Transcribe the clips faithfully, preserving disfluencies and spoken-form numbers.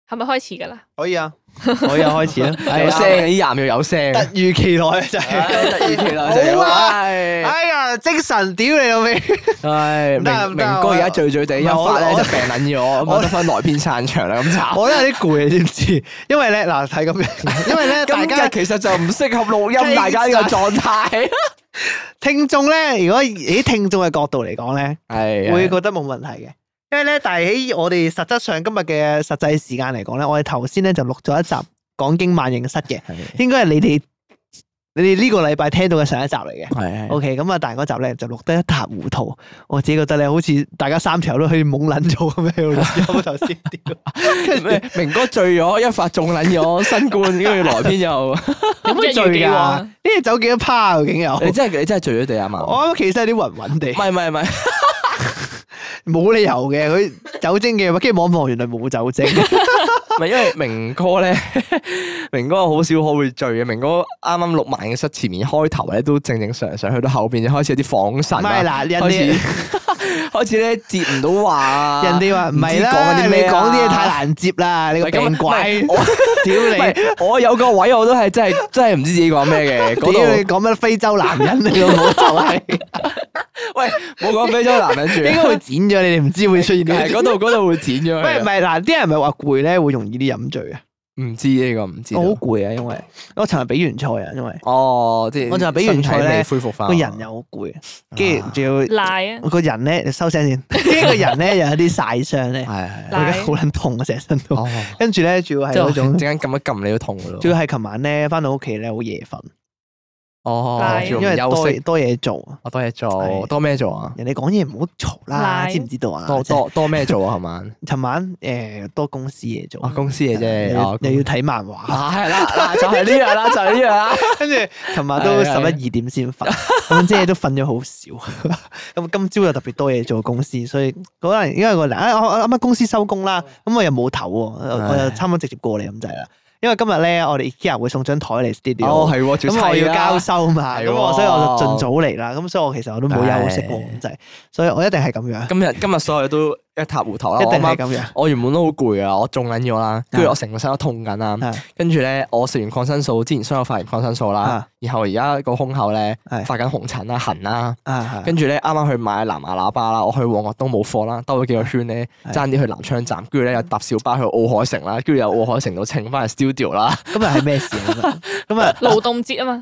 係咪開始㗎啦？ 可以啊，可以啊，開始啦。 有聲嘅啲人要有聲， 突如其來就係突如其來就好啊係。 哎呀，精神屌你老味！ 唉， 唔得唔得明明哥而家醉醉地，一我發咧我就病撚咗，咁啊得翻來篇散場啦，咁慘。 我都有啲攰，你知唔知？因為咧嗱係咁樣，因為咧大今家日其實就唔適合錄音，大家呢個狀態。 聽眾咧，如果以聽眾嘅角度嚟講咧， 係會覺得冇問題嘅。因為咧，但係喺我哋實質上今日嘅實際時間嚟講咧，我哋頭先咧就錄咗一集講經萬應室嘅，應該係你哋你哋呢個禮拜聽到嘅上一集嚟嘅。 係 OK，咁啊，但係嗰集咧就錄得一塌糊塗，我自己覺得咧，好似大家三條友都可以懵撚咗咁樣喺度錄音頭先屌，跟住咩？明哥醉咗，一發中撚咗新冠，跟住來篇又有乜醉㗎？呢啲酒幾多趴啊？究竟有？ 你真係你真係醉咗地啊嘛？ 我啱啱其實有啲暈暈地唔，係唔係唔係。 冇理由嘅，佢酒精嘅，跟住望一望原來冇酒精。 唔係因為明哥咧，明哥好少可會醉嘅。明哥啱啱錄萬應室前面開頭咧都正正常常，去到後邊就開始有啲恍神唔係啦， 嗱，人開始哋開始咧接唔到話啊， 人哋話唔係啦， 講緊啲你咩啊講啲嘢太難接啦，你個病鬼， 我屌唔你！ 係我有個位我都係真係真係唔知自己講咩嘅。嗰屌你度講乜非洲男人你個冇就係， 喂冇講非洲男人住， 應該會剪咗，你哋唔知會出現呢啲。 係嗰度嗰度會剪咗佢喂，唔啊。 係嗱，啲人咪話攰咧，會容易啲飲醉啊。 唔知呢個唔知道。 我好攰啊，因為我尋日比完賽啊，因為哦，即係我就係比完賽咧身體未恢復翻， 個人又好攰，跟住仲要賴啊！ 個人咧，你收聲先。跟住個人咧又有啲曬傷咧， 係係我而家好撚痛啊，成身都。 哦， 跟住咧，主要係即係嗰種陣，間撳一撳你都痛噶咯。 主要係琴晚咧翻到屋企咧好夜瞓， 哦， 賴仲因為多要休息， 多嘢做。 我多嘢做， 係多咩做啊？ 人哋講嘢唔好嘈啦， 賴知唔知道啊？ 多多多咩做啊？係嘛？ 尋晚誒多公司嘢做啊，，公司嘢啫， 又要哦又要睇漫畫， 啊，係啦，嗱就係呢樣啦，就係呢樣啦。 跟住琴晚都十一二點先瞓，咁即係都瞓咗好少。咁今朝又特別多嘢做公司，所以可能因為個啊我我啱啱公司收工啦，咁我又冇唞喎，我又差唔多直接過嚟咁滯啦。因為今日咧，我哋 IKEA 會送張台嚟 studio， 哦，係喎，仲咁我要砌交收嘛，咁係喎我所以我就盡早嚟啦。咁所以我其實我都冇休息喎，咁滯，所以我一定係咁樣， 今日今日所有嘢都一塌糊塗啦。 一定我啱啱係咁樣。 我原本都好攰啊，我中緊咗啦，跟住我成個身都痛緊啦係， 跟住咧我食完抗生素，之前雙有發完抗生素啦啊， 然後而家個胸口咧係發緊紅疹啦、痕啦， 啊， 跟住咧啱啱去買藍牙喇叭啦，我去旺角都冇貨啦，兜咗幾個圈咧， 係爭啲去南昌站，跟住咧又搭小巴去奧海城啦，跟住由奧海城度稱翻去 studio 啦。 今日係咩事啊？咁啊， 勞動節啊嘛，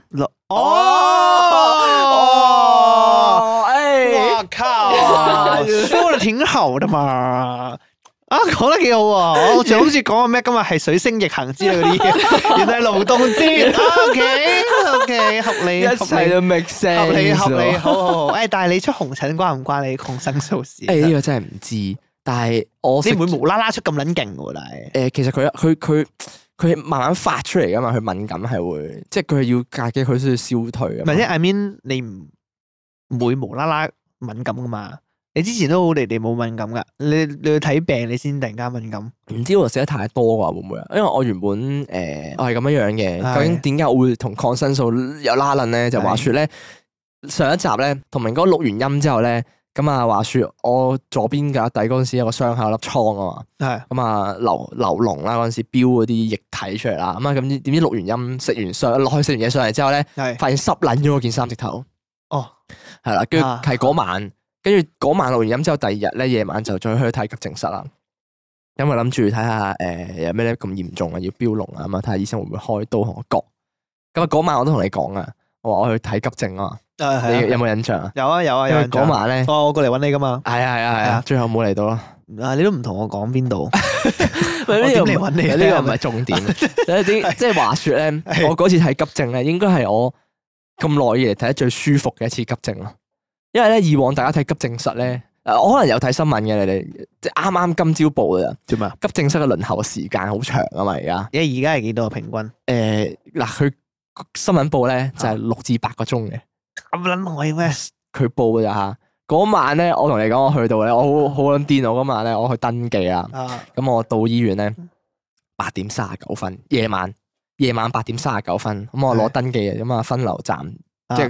哦， 誒， 我靠，說得挺好的嘛。啊，講得幾好喎！我仲諗住講個咩，今日係水星逆行之類嗰啲嘢，原來係勞動節。O K O K，合理一合理切都 make sense， 合理合理，好好好。誒，但係你出紅疹關唔關你抗生素事？ 誒呢個真係唔知，但係我食你唔會無啦啦出咁撚勁喎，但係誒，其實佢佢佢佢慢慢發出嚟噶嘛，佢敏感係會，即係佢係要隔幾佢先要消退啊嘛。 唔係即係 I mean 你唔唔會無啦啦敏感噶嘛？你之前都好地地冇敏感噶，你你去睇病你先突然間敏感。 唔知我食得太多啩，會唔會啊？因為我原本誒、呃我係咁樣樣嘅， 係究竟點解我會同抗生素有拉楞咧？就話說咧，上一集咧同明哥錄完音之後咧，咁啊話說我左邊架底嗰陣時有個傷口有粒瘡啊嘛， 係咁啊流流膿啦嗰陣時飆嗰啲液體出嚟啦，咁啊咁點知錄完音食完上落去食完嘢上嚟之後咧， 係發現濕撚咗嗰件衫直頭， 哦係啦，跟住啊係嗰晚。跟住嗰晚錄完音之後，第二日咧夜晚就再去睇急症室啦。因為諗住睇下誒有咩咧咁嚴重啊，要標膿啊，咁啊睇下醫生會唔會開刀同我割。咁啊嗰晚我都同你講啊，我話我去睇急症啊嘛。 啊係你有冇印象啊？ 有啊有啊因為有印象。 嗰晚咧， 哦，我過嚟揾你噶嘛。 係啊係啊係啊係啊， 最後冇嚟到啦。 啊，你都唔同我講邊度？ 我我點嚟揾你啊呢個唔係重點。有啲即係話説咧， 係我嗰次睇急症咧，應該係我咁耐以嚟睇得最舒服嘅一次急症咯。因為咧以往大家睇急症室咧。誒，我可能有睇新聞嘅，你哋即係啱啱今朝報嘅咋？ 做咩啊？ 急症室嘅輪候時間好長啊嘛，而家而而家係幾多啊平均？ 誒嗱，佢新聞報咧就係六至八個鐘嘅， 咁撚耐咩？ 佢報嘅咋嚇。嗰晚咧，我同你講，我去到咧，我好好撚癲，我嗰晚咧，我去登記啦。 啊咁我到醫院咧，八點三十九分，夜晚夜晚八點三十九分，咁我攞登記嘅，咁啊分流站，即係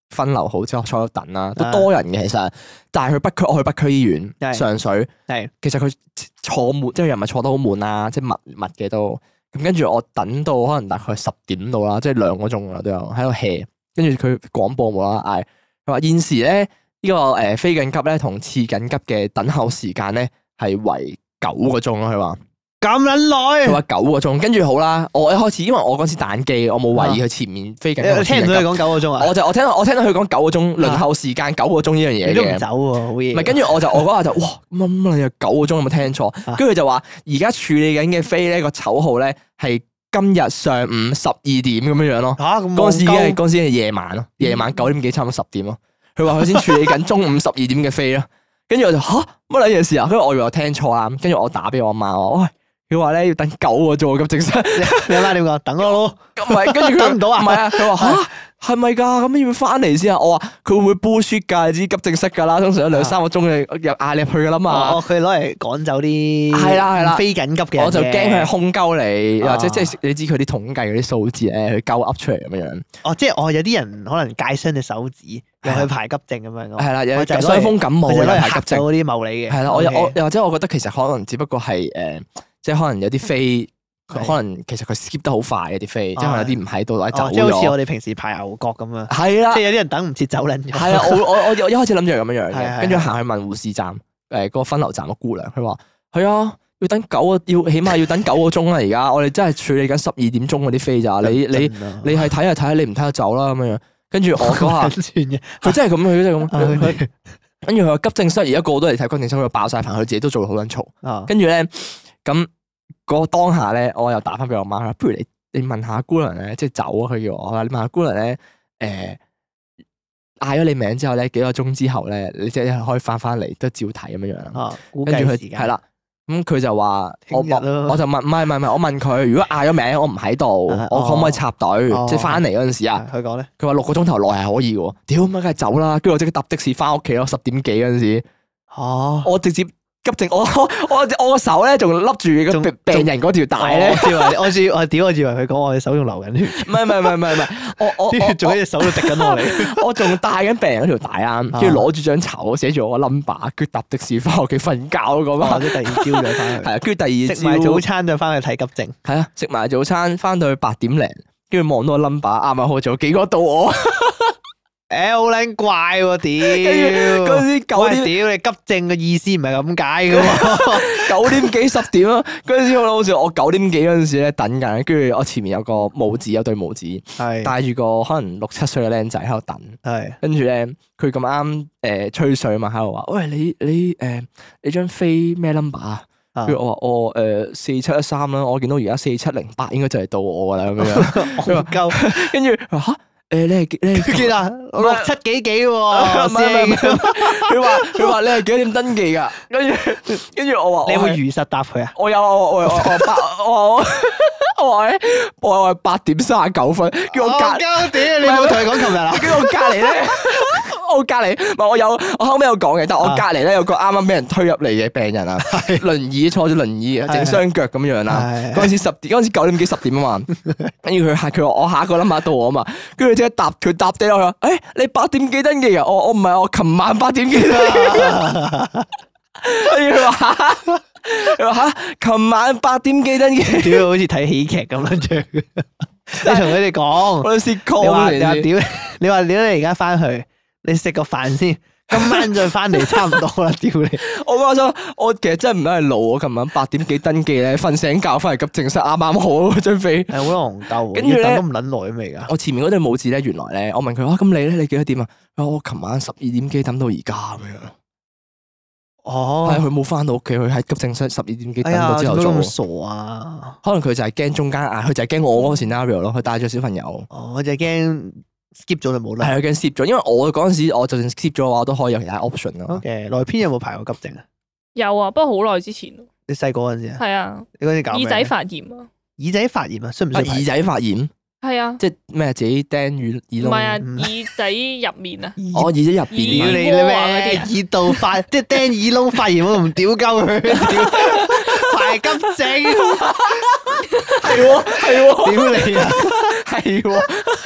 分流好之後坐喺度等啦，都多人嘅其實。但係去北區，我去北區醫院上水， 係其實佢坐滿，即係又唔係坐得好滿啦，即係密密嘅都。咁跟住我等到可能大概十點到啦，即係兩個鐘啦都有喺度 hea。跟住佢廣播冇啦嗌，佢話現時咧呢個誒非緊急咧同次緊急嘅等候時間咧係為九個鐘咯。佢話咁撚耐， 佢話九個鐘。跟住好啦，我一開始因為我嗰時打緊機，我冇懷疑佢前面非緊急。 你聽唔到佢講九個鐘啊？ 我就我聽我聽到佢講九個鐘輪候時間九個鐘呢樣嘢嘅。 你都唔走喎，好嘢。 唔係，跟住我就我嗰下就哇乜乜你有九個鐘有冇聽錯？跟住佢就話而家處理緊嘅飛咧個籌號咧係今日上午十二點咁樣樣咯。 嚇咁嗰陣時已經係嗰陣時係夜晚咯，夜晚九點幾差唔多十點咯。佢話佢先處理緊中午十二點嘅飛咯。跟住我就嚇乜撚嘢事啊？跟住我以為我聽錯啦。跟住我打俾我阿媽話喂。佢話咧要等九個鐘急症室， 你阿媽點講？等我咯， 咁唔係，跟住佢等唔到啊？ 唔係啊，佢話吓係咪噶？咁要翻嚟先啊？我話佢會唔會 bullshit 噶？你知急症室噶啦，通常有兩三個鐘嘅入嗌你入去噶啦嘛。 哦，佢攞嚟趕走啲係啦係啦非緊急嘅， 我就驚佢係空鳩你，或者即係你知佢啲統計嗰啲數字咧，佢鳩噏出嚟咁樣樣。 哦，即係哦，有啲人可能界傷隻手指，又去排急症咁樣。 係啦，有就係傷風感冒又排急症嗰啲茂理嘅。 係啦，我我又或者我覺得其實可能只不過係誒。即係可能有啲飛，可能其實佢 skip 得好快嘅啲飛，即係可能有啲唔喺度或者走咗。 即係好似我哋平時排牛角咁樣。 係啦， 即係有啲人等唔切走撚咗。 係啊，我我我我一開始諗住係咁樣樣嘅，跟住係行去問護士站，誒嗰個分流站個姑娘，佢話係啊，要等九個，要起碼要等九個鐘啦。而家我哋真係處理緊十二點鐘嗰啲飛咋，你你你係睇下睇下，你唔睇就走啦咁樣。跟住我嗰下，佢真係咁，佢真係咁。跟住佢話急症室而家個個都嚟睇急症室，佢爆晒棚，佢自己都做好撚嘈。跟住咧咁。嗰當下咧，我又打翻俾我媽啦。不如你你問下姑娘咧，即係走啊！佢叫我話你問下姑娘咧，誒嗌咗你名之後咧，幾個鐘之後咧，你即係可以翻翻嚟都照睇咁樣樣。 啊， 跟住佢係啦，咁佢就話我我就問唔係唔係唔係，我問佢如果嗌咗名我唔喺度，我可唔可以插隊？即係翻嚟嗰陣時啊， 佢講咧， 佢話六個鐘頭內係可以嘅。屌乜梗係走啦！跟住我即刻搭的士翻屋企咯，十點幾嗰陣時。 哦， 我直接。急症，我我我個手咧仲笠住個病人嗰條帶咧， 我以為我屌我以為佢講我隻手仲流緊血， 唔係唔係唔係唔係唔係，我我啲血仲喺隻手度滴緊落嚟， 我仲帶緊病人嗰條帶啊，跟住攞住張籌寫住我個 number，跟住搭的士翻屋企瞓覺咁啊， 即第二朝再翻去， 係啊，跟住第二朝食埋早餐就翻去睇急症， 係啊，食埋早餐翻到去八點零，跟住望到個 number 啱啱好仲有幾個到我。 誒，好撚怪喎！屌， 嗰陣時九點， 屌你急症嘅意思唔係咁解噶嘛？ 九點幾十點啊！嗰陣時我好似我九點幾嗰陣時咧等緊，跟住我前面有個母子，有對母子，係帶住個可能六七歲嘅僆仔喺度等，係跟住咧佢咁啱誒吹水嘛，喺度話：喂，你你誒你張飛咩 number 啊？跟住我話我誒四七一三啦，我見到而家四七零八應該就係到我噶啦咁樣。佢話夠，跟住佢話嚇。誒，你係你係幾啊？六七幾幾喎？唔係唔係唔係，佢話佢話你係幾點登記噶？跟住跟住我話， 你會如實答佢啊？ 我有我我我八我我我話咧，我係八點三十九分，叫我隔屌你冇同佢講琴日啊？ 叫我隔籬咧，我隔籬唔係我有我後尾有講嘅，但係我隔籬咧有個啱啱俾人推入嚟嘅病人啊，輪椅坐住輪椅，整雙腳咁樣啦。嗰陣時十點，嗰陣時九點幾十點啊嘛，跟住佢下佢話我下一個 number到我啊嘛，跟住即刻答佢答低我話，誒你八點幾登記啊？我我唔係我琴晚八點幾登記。跟住佢話佢話吓，琴晚八點幾登記， 屌好似睇喜劇咁樣樣。你同佢哋講， 我試過你話你話屌，你話屌你而家翻去，你食個飯先，今晚再翻嚟差唔多啦。屌你！ 我話咗，我其實真係唔係老，我琴晚八點幾登記咧，瞓醒覺翻嚟急症室啱啱好嗰張飛，係好戇鳩。 跟住咧都唔捻耐未噶？ 我前面嗰對母子咧，原來咧，我問佢啊，咁你咧，你幾多點啊？我琴晚十二點幾等到而家咁樣。哦，係佢冇翻到屋企，佢喺急症室十二點幾等到之後做。 咁傻啊！ 可能佢就係驚中間嗌，佢就係驚我嗰個 scenario 咯。佢帶咗小朋友。 哦，我就係驚 skip 咗就冇啦。 係啊，驚 skip 咗，因為我嗰陣時，我就算 skip 咗嘅話，我都可以有其他 option 咯。 OK，內篇有冇排過急症啊？ 有啊，不過好耐之前。 你細個嗰陣時啊？ 係啊。 你嗰陣時搞咩？ 耳仔發炎啊！ 耳仔發炎啊？需唔需要？ 耳仔發炎？ 係啊。 即係咩？自己釘耳耳窿？ 唔係啊，耳仔入面啊。 哦，耳仔入邊。 屌你咩？耳道發即係釘耳窿發炎，我唔屌鳩佢。排急症。係喎係喎。屌你啊！係喎。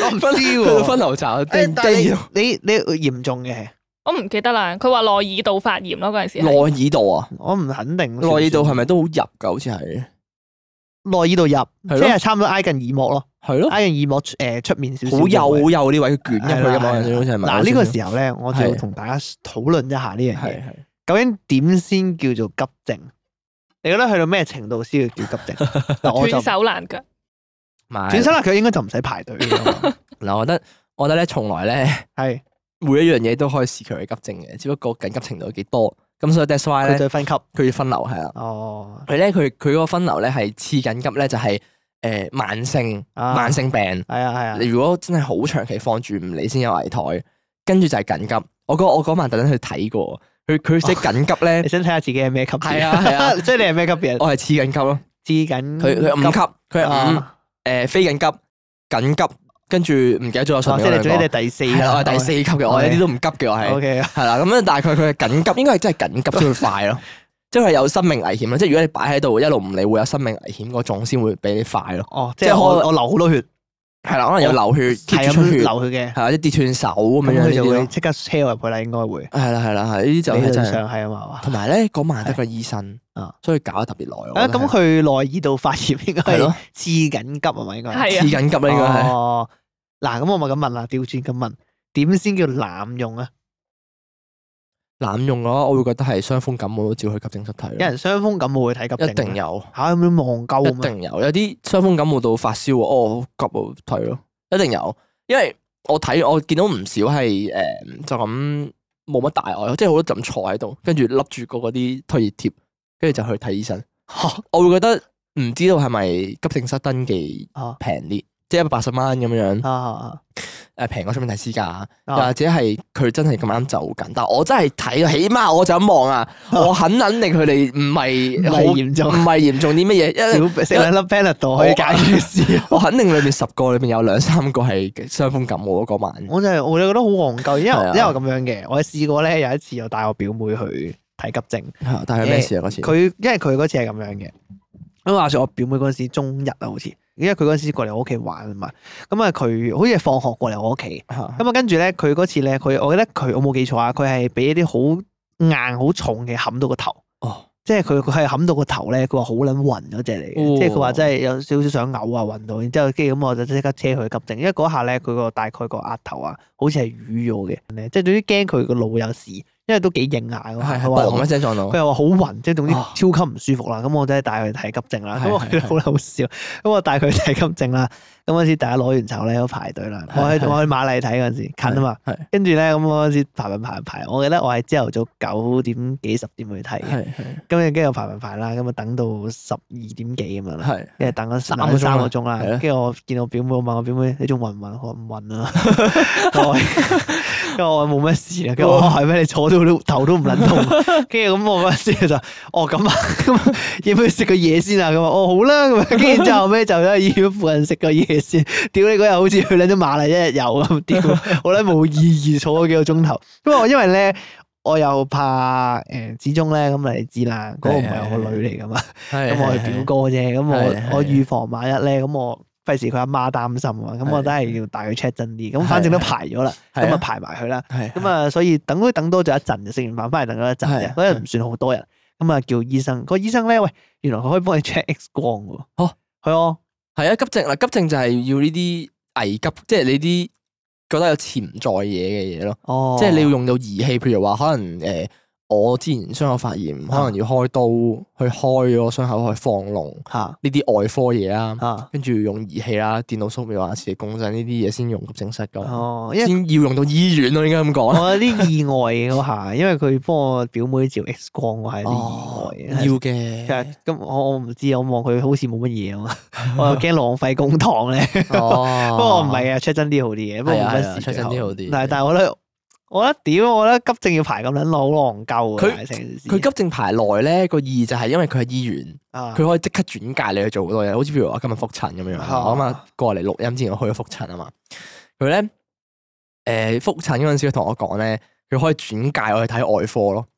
我唔知去到喎。 分流站誒叮但係叮你你你嚴重嘅， 我唔記得啦。佢話內耳道發炎咯，嗰陣時係。 內耳道啊， 我唔肯定。 內耳道係咪都好入㗎？好似係內耳道入， 係咯即係差唔多挨近耳膜咯， 係咯， 挨近耳膜誒出面少少。 好幼好幼呢位捲入去㗎嘛， 係啦好似係咪？ 嗱呢個時候咧，我就要係同大家討論一下呢樣嘢。 係係究竟點先叫做急症？你覺得去到咩程度先叫叫急症？嗱，我就斷手爛腳。 斷斷手啦，佢應該就唔使排隊㗎嘛。 嗱，我覺得我覺得咧，從來咧係每一樣嘢都可以視佢為急症嘅，只不過緊急程度幾多。咁所以 that's why 咧， 佢就分級。 佢要分流係啊。 哦， 佢咧佢佢嗰個分流咧係次緊急咧就係誒慢性啊慢性病。 係啊係啊你。如果真係好長期放住唔理先有危殆，跟住就係緊急。我嗰我嗰晚特登去睇過，佢佢寫緊急咧你，想睇下自己係咩級別？ 係啊係啊即係你係咩級別？ 我係次緊急咯。 知緊佢佢五級，佢係五啊誒非緊急、緊急，跟住唔記得咗我上哦面嗰兩個即係你總之你。係第四係啦，我係第四級嘅，我一啲都唔急嘅，我係 O K 係啦。咁樣大概佢係緊急，應該係真係緊急先會快咯，即係有生命危險咯。即係如果你擺喺度一路唔理，會有生命危險嗰種先會俾你快咯。 哦，即即係我係我我流好多血， 係啦，可能有流血、 係 keep 咁住出血， 流血嘅， 係啊，啲跌斷手咁咁樣樣呢啲咯。 佢就會即刻車我入去啦，應該會。 係啦係啦係，呢啲就理論係真係。 上係啊嘛。 同埋咧，嗰晚得個醫生啊， 所以搞得特別耐。我啊， 覺得係咁佢內耳道發炎應該係係咯次緊急啊嘛，應該係啊次緊急啦，應該係。 哦，嗱，咁我咪咁問啦，調轉咁問，點先叫濫用啊？ 濫用嘅話，我會覺得係傷風感冒都照去急症室睇咯。 有人傷風感冒會睇急症， 一定有， 嚇有冇望鳩一咁啊？ 定有。有啲傷風感冒到發燒喎，哦，好急啊，睇咯，一定有。因為我睇我見到唔少係誒、呃就咁冇乜大礙，即係好多陣坐喺度，跟住笠住個嗰啲退熱貼，跟住就去睇醫生。 嚇我會覺得唔知道係咪急症室登記啊平啲，即係一百八十蚊咁樣。 啊啊！ 誒平過出面睇私家，又啊或者係佢真係咁啱就緊，但係我真係睇，起碼我就咁望啊，我肯肯定佢哋唔係唔好係嚴重唔係嚴重啲乜嘢，因為少食兩粒 Panadol 可以解決事。 我肯定裏面十個裏面有兩三個係傷風感冒嗰晚。 我就係我就覺得好戇鳩，因為係啊因為咁樣嘅，我試過咧有一次我帶我表妹去睇急症， 但係咩事啊嗰次？ 佢因為佢嗰次係咁樣嘅，咁話說我表妹嗰陣時中一啊，好似，因為佢嗰陣時過嚟我屋企玩啊嘛，咁啊佢好似係放學過嚟我屋企， 嚇咁啊跟住咧佢嗰次咧佢我記得佢我冇記錯啊，佢係俾一啲好硬好重嘅冚到個頭。 哦， 即係佢佢係冚到個頭咧，佢話好撚暈嗰只嚟嘅， 哦即係佢話真係有少少想嘔啊，暈到，然之後跟住咁我就即刻車佢去急症，因為嗰下咧佢個大概個額頭啊，好似係瘀咗嘅，即係總之驚佢個腦有事，因為都幾硬下嗰下， 係係佢話嘣一聲撞到佢。又話好暈，即係總之哦超級唔舒服啦。咁我真係帶佢去睇急症啦。咁我係覺得好好笑。咁我帶佢去睇急症啦。咁嗰陣時大家攞完籌咧，都排隊啦。我去係我去瑪麗睇嗰陣時近啊嘛。 係跟住咧，咁我嗰陣時排排排排，我記得我係朝頭早九點幾十點去睇嘅。 係係咁跟住排排排啦，咁啊等到十二點幾咁樣啦。 係跟住等咗三個鐘啦三個鐘啦， 係咯跟住我見我表妹，我問我表妹你仲暈唔暈？我話唔暈啊，我跟住我話冇乜事啊，跟住我話係咩？你坐到都頭都唔撚痛，跟住咁我嗰陣時就哦咁啊，咁要唔要食個嘢先啊？咁啊哦好啦，咁啊跟住然之後尾就喺醫院附近食個嘢先。屌你嗰日好似去撚咗馬麗一日遊咁，屌我覺得冇意義，坐咗幾個鐘頭。不過因為咧。我又怕誒，始終咧咁你知啦，嗰個唔係我個女嚟噶嘛，咁我係表哥啫，咁係係我我預防萬一咧，咁我費事佢阿媽擔心啊，咁我都係要帶佢 check 真啲，咁反正都排咗啦， 係咁啊排埋佢啦， 係咁啊所以等都等多咗一陣，食完飯翻嚟等咗一陣啫， 係嗰日唔算好多人，咁啊叫醫生，個醫生咧喂，原來佢可以幫你 check X 光喎， 哦， 係啊， 係啊，急症嗱，急症就係要呢啲危急，即係你啲覺得有潛在嘢嘅嘢咯， 哦， 即係你要用到儀器，譬如話可能誒。我之前傷口發炎，可能要開刀去開咗傷口去放膿， 嚇呢啲外科嘢啦， 嚇， 跟住用儀器啦、電腦掃描啊、磁力共振呢啲嘢先用急症室噶， 哦，因為。 先要用到醫院咯，應該咁講。 我有啲意外嘅嗰下，因為佢幫我表妹照 X 光，我係有啲意外嘅。 要嘅其實咁我我唔知，我望佢好似冇乜嘢啊嘛，我又驚浪費公帑咧。 哦， 不過唔係啊，check 真啲好啲嘅，不過冇乜事。 check 真啲好啲。 但係但係我覺得，我覺得屌，我覺得急症要排咁撚耐，好戇鳩啊！ 佢成件事佢急症排耐咧，個意義就係因為佢喺醫院， 啊， 佢可以即刻轉介你去做好多嘢，好似譬如我今日復診咁樣， 啊我啱啱過嚟錄音之前我去咗復診啊嘛，佢咧誒復診嗰陣時佢同我講咧，佢可以轉介我去睇外科咯。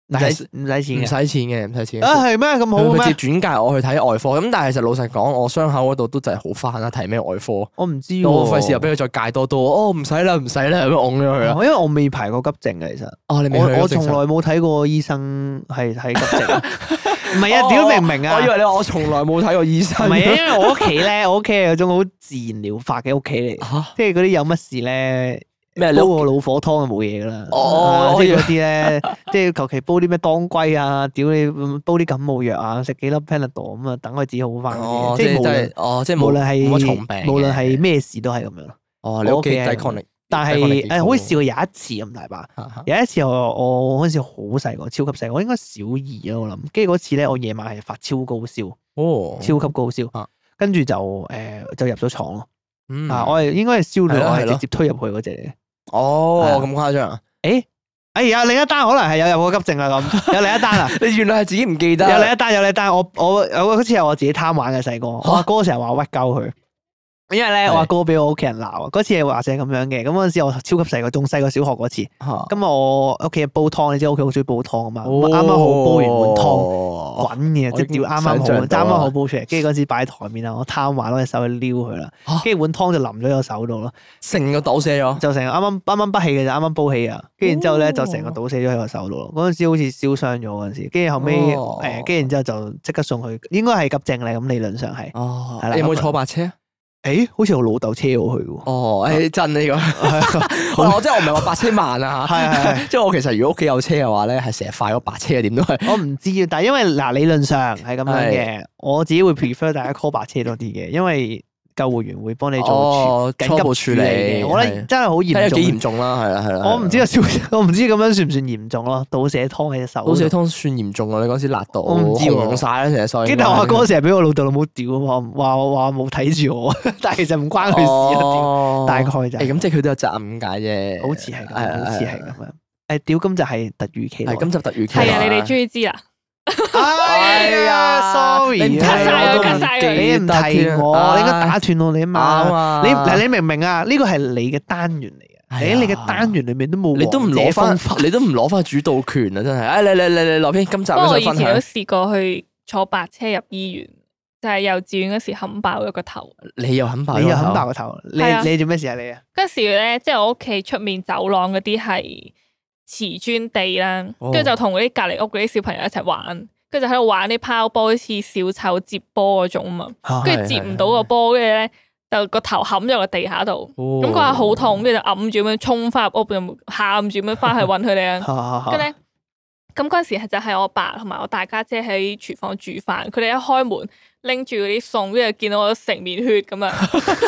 唔使唔使錢唔嘅使錢嘅，唔使錢嘅。 啊，係咩咁好佢嘅咩？ 直接轉介我去睇外科，咁但係其實老實講，我傷口嗰度都就係好翻啦，睇咩外科， 我唔知我喎， 費事又俾佢再戒多多，哦唔使啦唔使啦，咁樣拱咗佢啦。 因為我未排過急症嘅，其實哦，你未去我我從過正常來冇睇過醫生係睇急症，唔係啊，屌明唔明啊？ 我以為你話我從來冇睇過醫生。 唔係啊，因為我屋企咧，我屋企係有種好自然療法嘅屋企嚟， 嚇即係嗰啲有乜事咧。 咩？你屋煲個老火湯就冇嘢噶啦， 哦啊即係我以為嗰啲咧，即係求其煲啲咩當歸啊，屌你煲啲感冒藥啊，食幾粒 Panadol 咁啊，等佢自己好翻嗰哦， 啲，即係無論即係真係哦，即係冇無論係冇乜重病嘅， 無論係咩事都係咁樣咯。 哦，你屋企我屋企係抵抗力， 但係抵抗力幾高誒，好似試過有一次咁大把， 嚇嚇有一次我我嗰陣時好細個，超級細個，我應該小二咯，我諗。跟住嗰次咧，我夜晚係發超高燒， 哦， 超級高燒啊， 跟住就誒就入咗床咯。 嗯啊，我係應該係燒到我係係咯係咯直接推入去嗰只嚟嘅。 哦係啊咁誇張啊！ 誒，哎呀，另一單可能係有入過急症啊咁，有另一單啊， 你原來係自己唔記得， 有另一單有另一單，我我我好似係我自己貪玩嘅細個，我阿哥成日話屈鳩佢。因為咧， 係我阿哥俾我屋企人鬧啊，嗰次係話就係咁樣嘅。咁嗰陣時我超級細個，仲細過小學嗰次。 嚇咁我屋企煲湯，你知我屋企好中意煲湯啊嘛。咁啱啱好煲完碗湯， 湯， 滾嘅，即係屌啱啱好， 想像啱啱到啊好煲出嚟。跟住嗰陣時擺喺台面啦，我貪玩攞隻手去撩佢啦嚇， 跟住碗湯就淋咗我手度咯， 成個倒瀉咗， 就成啱啱啱啱不起嘅就啱啱煲起啊。跟住然之後咧就成個倒瀉咗喺我手度咯。嗰陣時好似燒傷咗嗰陣時，跟住後尾哦誒，跟住然之後就即刻送去，應該係急症嚟，咁理論上係。 哦係啦你有冇坐白車啊？ 誒，好似我老豆車我去喎。 哦，誒真呢個， 係我即係我唔係話白車慢啊嚇， 係係。 即係我其實如果屋企有車嘅話咧，係成日快過白車嘅，點都係。 我唔知啊，但係因為嗱理論上係咁樣嘅，我自己會 prefer 大家 call 白車多啲嘅，因為救護員會幫你做哦處初步緊急處理處理嘅。我覺得真係好睇下嚴重。 幾嚴重啦，係啦係啦。 我唔知啊，少我唔知咁樣算唔算嚴重咯？倒瀉湯喺隻手度。 倒瀉湯算嚴重啊！你嗰時辣到我唔知喎紅晒啦，成隻手。 跟住我阿哥成日俾我老豆老母屌啊，話話話冇睇住我，但係其實唔關佢事啊，屌哦大概就係誒咁，即係佢都有責任解啫。 好似係咁， 係好似係咁樣。誒屌，咁就係突如其來。 係今集突如其來。 係啊，你哋終於知啦。 哎呀，sorry 你唔啊， cut 晒佢我都唔 ，cut 晒佢你唔提我，你應該打斷我你啊啱嘛。 啊！ 你嗱，你明唔明啊？呢個係你嘅單元嚟嘅， 係啊喺你嘅單元裏面都冇你都唔攞翻王者風範， 你都唔攞翻主導權啊！真係，誒，你你你你羅編，今集不過我以有想分享？ 前都試過去坐白車入醫院，就係幼稚園嗰時冚爆咗個頭。 你又肯爆， 你又肯爆個頭，你係啊你做咩事啊你啊？ 嗰時咧，即係我屋企出面走廊嗰啲係瓷磚地啦， 哦跟住就同嗰啲隔離屋嗰啲小朋友一齊玩，跟住就喺度玩啲拋波，好似小丑接波嗰種啊嘛， 啊跟住接唔到個波，跟住咧就個頭冚咗個地下度，咁嗰下好痛，跟住就揞住咁樣衝翻入屋，就喊住咁樣翻去揾佢哋啊。跟住咧，咁嗰陣時係就係我爸同埋我大家姐喺廚房煮飯，佢哋一開門拎住嗰啲餸，跟住見到我成面血咁樣，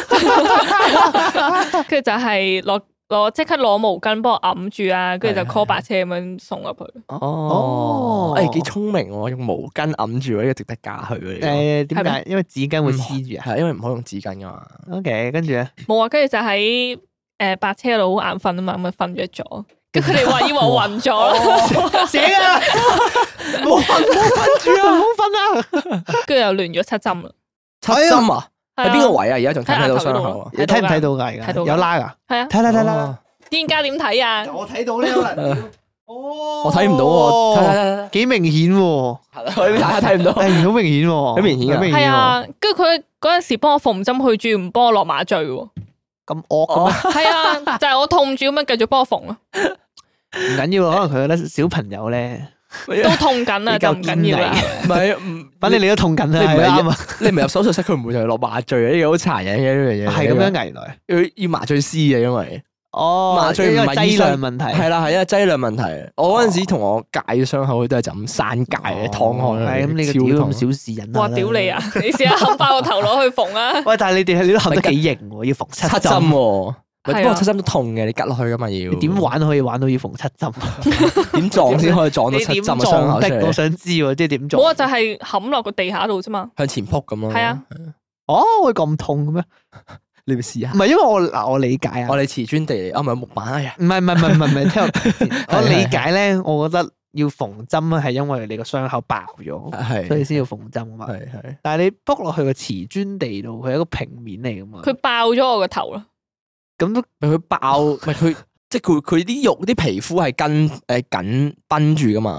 跟住就係攞攞即刻攞毛巾幫我揞住啊，跟住就 call 白車咁樣送入去。 哦，誒幾聰明喎，用毛巾揞住呢個值得加佢嘅。 誒點係解？因為紙巾會黐住啊。 係因為唔可以用紙巾噶嘛。 OK，跟住咧， 冇啊，跟住就喺誒白車度好眼瞓啊嘛，咁啊瞓咗咗。跟住佢哋話以為我暈咗咯， 死啊！冇瞓冇瞓住啊！冇瞓啊！ 跟住又亂咗七針啦。 七針啊？ 係啊喺邊個位啊？而家仲睇唔睇到喺額頭嗰度傷口啊？ 你睇唔睇到㗎？而家睇到㗎有拉㗎？ 係啊， 睇睇睇啦！ 哦專家點睇啊？ 我睇到呢可能。哦， 我睇唔到喎，睇睇睇幾明顯喎！ 睇，大家睇唔到。 誒，好明顯喎， 好明顯啊好明顯喎， 係啊，跟住佢嗰陣時幫我縫針，佢仲要唔幫我落麻醉喎。 咁惡嘅咩？ 係啊，就係我痛住咁樣繼續幫我縫咯， 唔緊要啊，可能佢覺得小朋友咧都痛緊啊， 比較就唔緊要啦。 唔係唔， 反正你都痛緊啦， 你唔係係啱啊， 你唔係入手術室，佢唔會就係落麻醉嘅，呢個好殘忍嘅呢樣嘢。 係咁樣危來。 要要麻醉師嘅，因為哦， 麻醉唔因為劑係醫生量問題， 係啦，係因為劑量問題。我嗰陣時同我戒咗傷口，都係就咁散戒嘅，燙開。 係咁，你個屌咁小事忍下啦哇！屌你！啊！你試下冚爆個頭攞去縫啊！ 喂，但係你哋你都冚得幾型喎，要縫七七針針， 喎，不係啊過七針都痛嘅，你吉落去噶嘛要。 你點玩都可以玩到要縫七針？ 點撞先可以撞到你點七針嘅傷撞的？我口出嚟？ 想知喎，即係點撞？ 冇啊，就係冚落個地下度啫嘛。 向前撲咁咯。 係啊， 哦，會咁痛嘅咩？ 你咪試下唔。係因為我嗱，我理解啊， 我哋瓷磚地嚟，啊唔係木板哎呀。 唔係唔係唔係唔係唔係，聽我講先係我理解咧，我覺得要縫針係因為你個傷口爆咗， 係所以先要縫針啊嘛。 係係。 但係你卜落去個瓷磚地度，佢係一個平面嚟噶嘛。 佢爆咗我個頭咯。 咁都咪佢爆，咪佢即係佢佢啲肉啲皮膚係跟誒緊繃住噶嘛。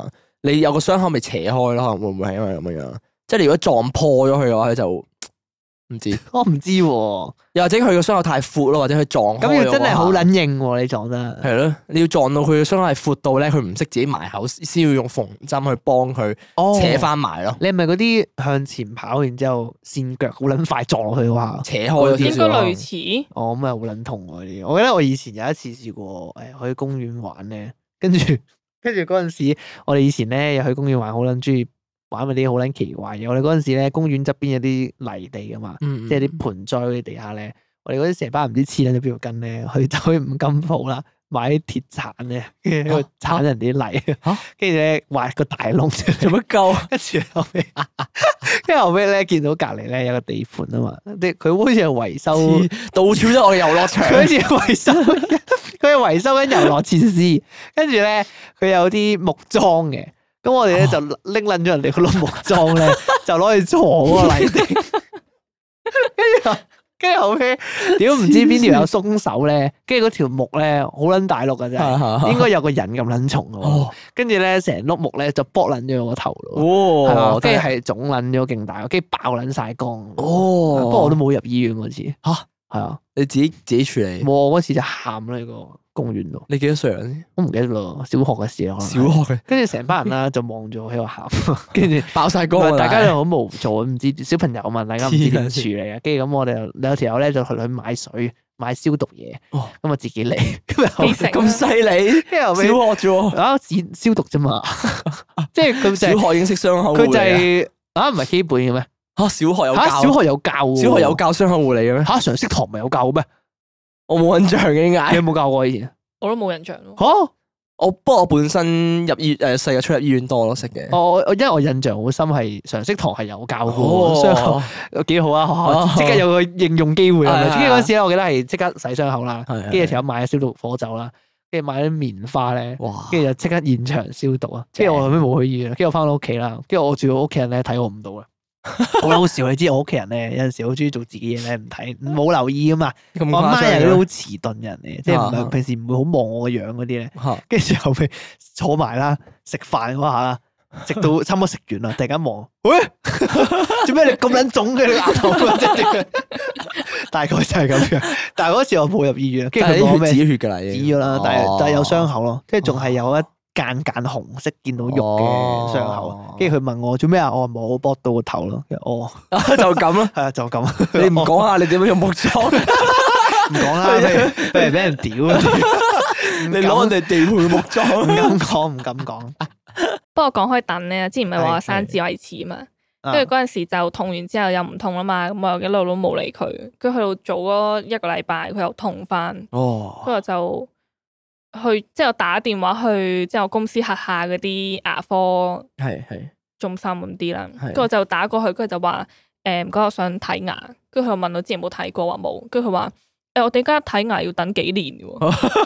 你有個傷口咪扯開咯，可能會唔會係因為咁樣樣？即係你如果撞破咗佢嘅話，佢就唔知。 我唔知喎， 又或者佢個傷口太闊咯，或者佢撞開。 咁要真係好撚硬喎！你撞得係咯，你要撞到佢嘅傷口係闊到咧，佢唔識自己埋口，先要用縫針去幫佢扯翻埋咯。 你係咪嗰啲向前跑，然之後跣腳好撚快撞落去嘅話， 扯開咗應該類似。 哦，咁啊好撚痛喎呢啲。我記得我以前有一次試過誒去公園玩咧，跟住跟住嗰陣時，我哋以前咧又去公園玩，好撚中意玩嗰啲好撚奇怪嘅。我哋嗰陣時咧，公園側邊有啲泥地噶嘛， 嗯嗯即係啲盆栽嗰啲地下咧，我哋嗰啲成班唔知黐撚咗邊條筋咧，去走去五金鋪啦，買啲鐵鏟咧，跟住喺度鏟人哋啲泥，跟住咧挖個大窿做乜鳩？跟住後尾，跟住後尾咧見到隔離咧有個地盤啊嘛，啲佢好似係維修， 到處都我嘅遊樂場， 佢好似維修，佢係維修緊遊樂設施，跟住咧佢有啲木樁嘅。咁我哋咧就拎撚咗人哋嗰碌木樁咧，就攞去坐嗰個泥地，跟住跟住後尾，屌唔知邊條有鬆手咧，跟住嗰條木咧好撚大碌噶真係，應該有個人咁撚重嘅喎，跟住咧成碌木咧就剝撚咗我個頭咯，係啊，跟住係腫撚咗勁大，跟住爆撚晒光，哦，不過我都冇入醫院嗰次，吓係啊， 你自己自己處理， 我嗰次就喊啦呢個公園度。 你幾多歲啊？ 我唔記得咯，小學嘅事咯。 小學嘅， 跟住成班人啦就望住我喺度喊，跟住爆晒光， 大家就好無助，唔知小朋友嘛，大家唔知點處理啊。跟住咁我哋有條友咧就去去買水買消毒嘢，咁啊自己嚟， 咁犀利，小學啫喎， 啊消毒啫嘛，即係佢小學已經識傷口護理， 佢就係啊唔係基本嘅咩？ 吓小學有教， 小學有教， 小學有教傷口護理嘅咩？ 吓常識堂咪有教咩？ 我冇印象嘅，點解？ 你有冇教過以前？ 我都冇印象咯。 吓， 我不過我本身入醫誒細個出入醫院多咯，識嘅。 我我因為我印象好深係常識堂係有教過傷口，幾好啊！學校即刻有個應用機會啊！跟住嗰陣時咧，我記得係即刻洗傷口啦，跟住條友買咗消毒火酒啦，跟住買啲棉花咧，跟住就即刻現場消毒啊！跟住我後尾冇去醫院，跟住我翻到屋企啦，跟住我住我屋企人咧睇我唔到啊！好好笑，你知我屋企人咧有陣時好中意做自己嘢咧，唔睇冇留意噶嘛。我阿媽係啲好遲鈍人嚟，即係唔係平時唔會好望我個樣嗰啲咧。跟住後尾坐埋啦，食飯嗰下啦，食到差唔多食完啦，突然間望，喂，做咩你咁撚腫嘅你額頭？大概就係咁樣。但係嗰次我冇入醫院，跟住佢講咩？ 止血噶啦， 止咗啦，但係但係有傷口咯，即係仲係有一間間紅色見到肉嘅傷口，跟住佢問我做咩啊？我話冇，剝到個頭咯。哦， 就咁咯， 係啊，就咁。 你唔講下你點樣用木樁？ 唔講啦，不如不如俾人屌。 你攞人哋地盤木樁， 唔敢講，唔敢講。 不過講開等咧，之前咪話生智慧齒嘛，跟住嗰陣時就痛完之後又唔痛啦嘛，咁我一路都冇理佢，跟住去到早嗰一個禮拜佢又痛翻， 哦， 跟住就。去即係我打電話去即係我公司轄下嗰啲牙科係係中心咁啲啦，跟住我就打過去，跟住就話誒唔該我想睇牙，跟住佢又問我之前冇睇過話冇，跟住佢話誒我哋而家睇牙要等幾年嘅喎，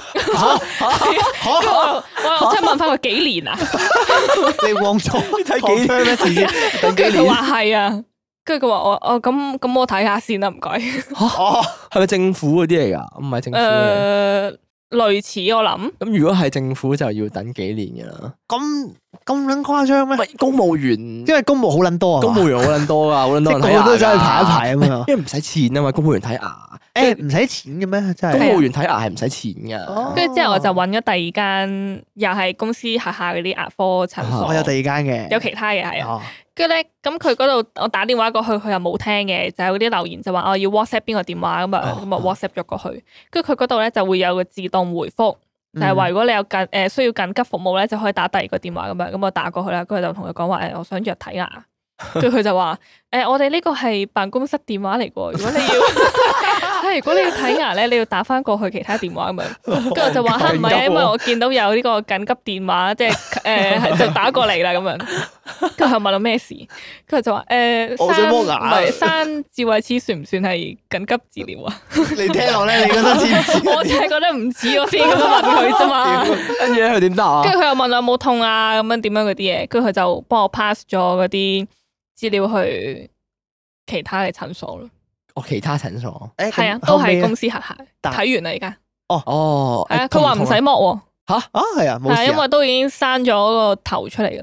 跟住我我即係問翻佢幾年啊？ 你忘咗睇幾年咩？自己等幾年？ 佢話係啊，跟住佢話我我咁咁我睇下先啦，唔該。 哦，係咪政府嗰啲嚟噶？唔係政府嘅。 類似我諗， 咁如果係政府就要等幾年噶啦。 咁咁撚誇張咩？ 公務員， 因為公務好撚多啊， 公務員好撚多噶，好撚多人睇牙。 個個都走去排一排啊嘛。 因為唔使錢啊嘛，公務員睇牙。 誒唔使錢嘅咩？真係。 公務員睇牙係唔使錢噶。 跟住之後我就揾咗第二間，又係公司轄下嗰啲牙科診所。 我有第二間嘅， 有其他嘅係啊。跟住咧，咁佢嗰度我打電話過去，佢又冇聽嘅，就係嗰啲留言就話我要 WhatsApp 邊個電話咁啊，咁啊 WhatsApp 咗過去。跟住佢嗰度咧就會有個自動回覆。就係話如果你有緊誒需要緊急服務咧，就可以打第二個電話咁樣，咁我打過去啦，跟住就同佢講話誒，我想約睇牙，跟住佢就話誒，我哋呢個係辦公室電話嚟嘅，如果你要係如果你要睇牙咧，你要打翻過去其他電話咁樣，跟住我就話吓唔係啊，因為我見到有呢個緊急電話，即係誒就打過嚟啦咁樣，跟住佢問我咩事，跟住就話誒， 我想剝牙， 唔係生智慧齒算唔算係緊急治療啊？ 你聽落咧，你覺得似唔似？ 我真係覺得唔似，我先咁樣問佢啫嘛。 跟住咧，佢點答啊？ 跟住佢又問我有冇痛啊，咁樣點樣嗰啲嘢，跟住佢就幫我 pass 咗嗰啲資料去其他嘅診所咯。 哦，其他診所， 誒，係啊，都係公司轄下。睇完啦，而家。 哦哦， 係啊，佢話唔使剝喎。 吓啊， 係啊，冇事啊。 係因為都已經生咗個頭出嚟噶啦。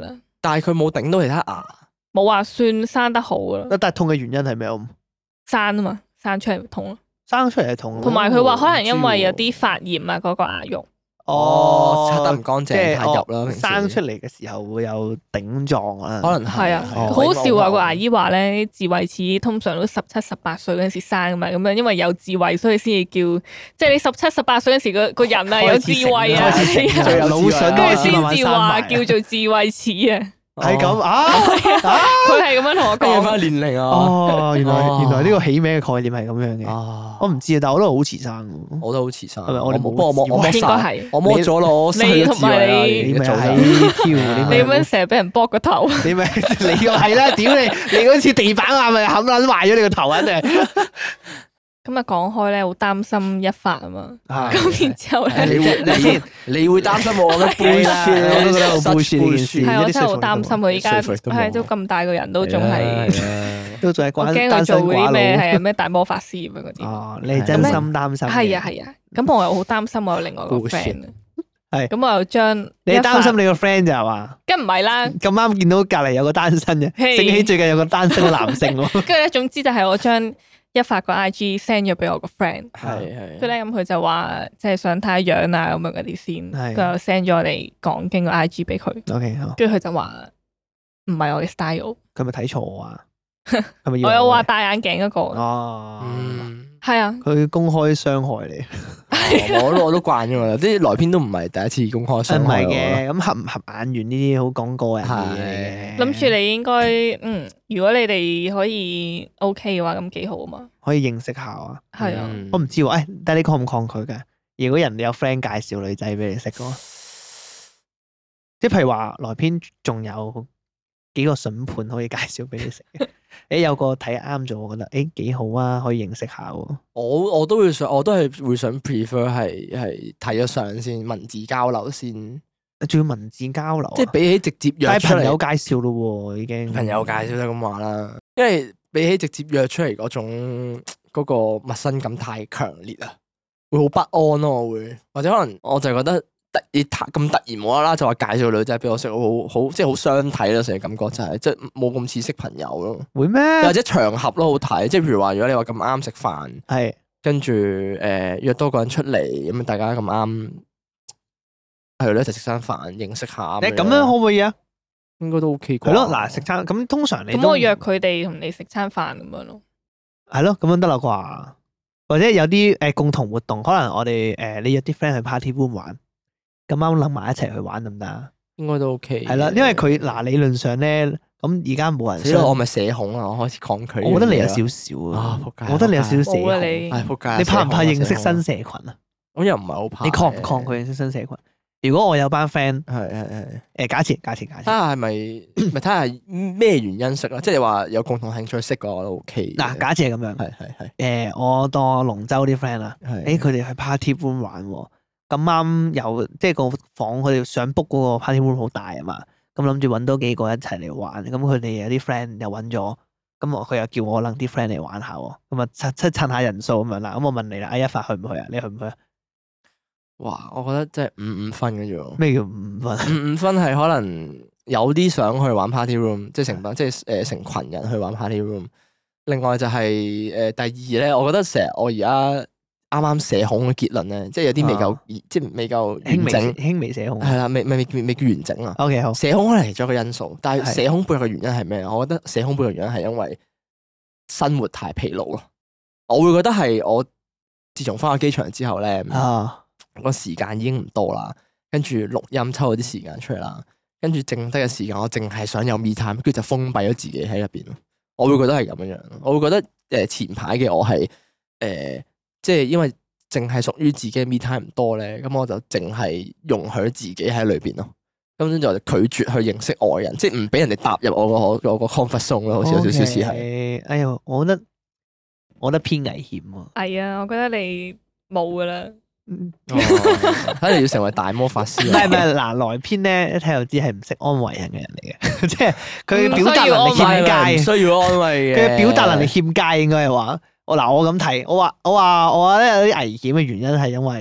但係佢冇頂到其他牙， 冇話算生得好噶啦。 但係痛嘅原因係咩？ 生啊嘛，生出嚟痛咯。 生出嚟係痛。 同埋佢話可能因為有啲發炎啊，嗰個牙肉。 哦，刷得唔乾淨太入啦。 生出嚟嘅時候會有頂撞啊。 可能係啊，好好笑啊！個牙醫話咧，智慧齒通常都十七、十八歲嗰陣時生噶嘛，咁樣因為有智慧，所以先至叫，即係你十七、十八歲嗰時個個人啊有智慧啊， 最有腦筍， 跟住先至話叫做智慧齒啊。 係咁啊！ 佢係咁樣同我講翻年齡啊！ 哦，原來原來呢個起名嘅概念係咁樣嘅。我唔知啊，但係我都好遲生。 我都好遲生。 係咪我哋冇？ 我摸我摸應該係我摸咗咯。 你同埋你， 你咪係挑你咁樣成日俾人剝個頭。 你咪你個係啦！屌你！你嗰次地板啊，咪冚撚壞咗你個頭啊！真係。 咁啊講開咧，好擔心一發啊嘛。咁然之後咧， 你會你你會擔心我咩？ 背啦，我都覺得好背書呢件事。 係我真係好擔心佢依家係都咁大個人都仲係， 都仲係關我驚佢做嗰啲咩係咩大魔法師咁樣嗰啲。 哦，你真心擔心。 係啊係啊，咁我又好擔心我有另外個 friend 啊。係。咁我又將你擔心你個 friend 就係嘛？ 梗唔係啦。 咁啱見到隔離有個單身嘅，醒起最近有個單身嘅男性喎。 跟住咧，總之就係我將一發個 I G send 咗俾我個 friend， 係係， 跟住咧咁佢就話即係想睇下樣啊咁樣嗰啲先，佢又 send 咗我哋講經個 I G 俾佢 ，OK 好， 跟住佢就話唔係我嘅 style， 佢咪睇錯我啊？係咪？ 我有話戴眼鏡嗰個， 哦， 係啊， 佢公開傷害你， 我都我都慣咗啦，啲來篇都唔係第一次公開傷害。 唔係嘅，咁合唔合眼緣呢啲好講個人嘅嘢。 諗住你應該嗯，如果你哋可以 OK 嘅話，咁幾好啊嘛， 可以認識下啊。 係啊， 我唔知喎，誒，但係你抗唔抗拒嘅？如果人哋有 friend 介紹女仔俾你識嘅，即係譬如話來篇仲有幾個筍盤可以介紹俾你食嘅。誒，有個睇啱咗，我覺得誒幾好啊，可以認識下喎。 我我都會想，我都係會想 prefer 係係睇咗相先，文字交流先。 仲要文字交流， 即係比起直接約出嚟， 朋友介紹咯，已經朋友介紹就咁話啦。因為比起直接約出嚟嗰種嗰個陌生感太強烈啊，會好不安咯。我會或者可能我就覺得突然咁突然無啦啦就話介紹女仔俾我識，好好即係好相睇咯，成個感覺就係即係冇咁似識朋友咯。 會咩？ 或者場合咯好睇，即係譬如話如果你話咁啱食飯， 係跟住誒約多個人出嚟咁啊，大家咁啱。係咯，一齊食餐飯，認識下。 你咁樣可唔可以啊？ 應該都 OK 啩。 係咯，嗱，食餐咁通常你咁我約佢哋同你食餐飯咁樣咯。 係咯，咁樣得啦啩？或者有啲誒共同活動，可能我哋誒你約啲 friend 去 party room 玩，咁啱諗埋一齊去玩得唔得啊？ 應該都 OK。 係啦，因為佢嗱理論上咧，咁而家冇人。 所以我咪社恐啊！我開始抗拒。 我覺得你有少少啊，我覺得你有少少社恐。 你仆街！ 你怕唔怕認識新社群啊？ 咁又唔係好怕。 你抗唔抗拒認識新社群？如果我有班 friend， 係係係， 誒假設假設假設， 睇下係咪咪睇下咩原因識啦，即係話有共同興趣識嘅我都 OK。 嗱，假設係咁樣， 係係係， 誒我當龍舟啲 friend 啦，誒佢哋去 party room 玩喎，咁啱有即係個房佢哋想 book 嗰個 party room 好大啊嘛，咁諗住揾多幾個一齊嚟玩，咁佢哋有啲 friend 又揾咗，咁我佢又叫我撚啲 friend 嚟玩下喎，咁啊趁趁趁下人數咁樣啦，咁我問你啦，阿一發去唔去啊？你去唔去啊？ 哇！我覺得真係五五分嘅啫喎。 咩叫五分？ 五五分係可能有啲想去玩 party room，即係成班，即係誒成群人去玩 party room。另外就係誒第二咧，我覺得成日我而家啱啱社恐嘅結論咧，即係有啲未夠，即係未夠完整， 輕微社恐係啦，未未未未叫完整啊。 OK 好。 社恐可能係其中一個因素，但係社恐背後嘅原因係咩？我覺得社恐背後嘅原因係因為生活太疲勞咯。我會覺得係我自從翻去機場之後咧。 啊。 個時間已經唔多啦，跟住錄音抽咗啲時間出嚟啦，跟住剩低嘅時間我淨係想有 me time，跟住就封閉咗自己喺入邊咯。我會覺得係咁樣樣，我會覺得誒前排嘅我係誒、呃、即係因為淨係屬於自己嘅 me time 唔多咧，咁我就淨係容許自己喺裏邊咯，咁樣就拒絕去認識外人，即係唔俾人哋踏入我個我個 comfort zone 咯，好似有少少似係。 哎呀，我覺得我覺得偏危險喎。 係啊，我覺得你冇噶啦。 睇嚟要成為大魔法師。 唔係唔係，嗱來篇咧一睇就知係唔識安慰人嘅人嚟嘅，即係佢表達能力欠佳， 需要安慰嘅。 佢表達能力欠佳應該係話，我嗱我咁睇，我話我話我話咧有啲危險嘅原因係因為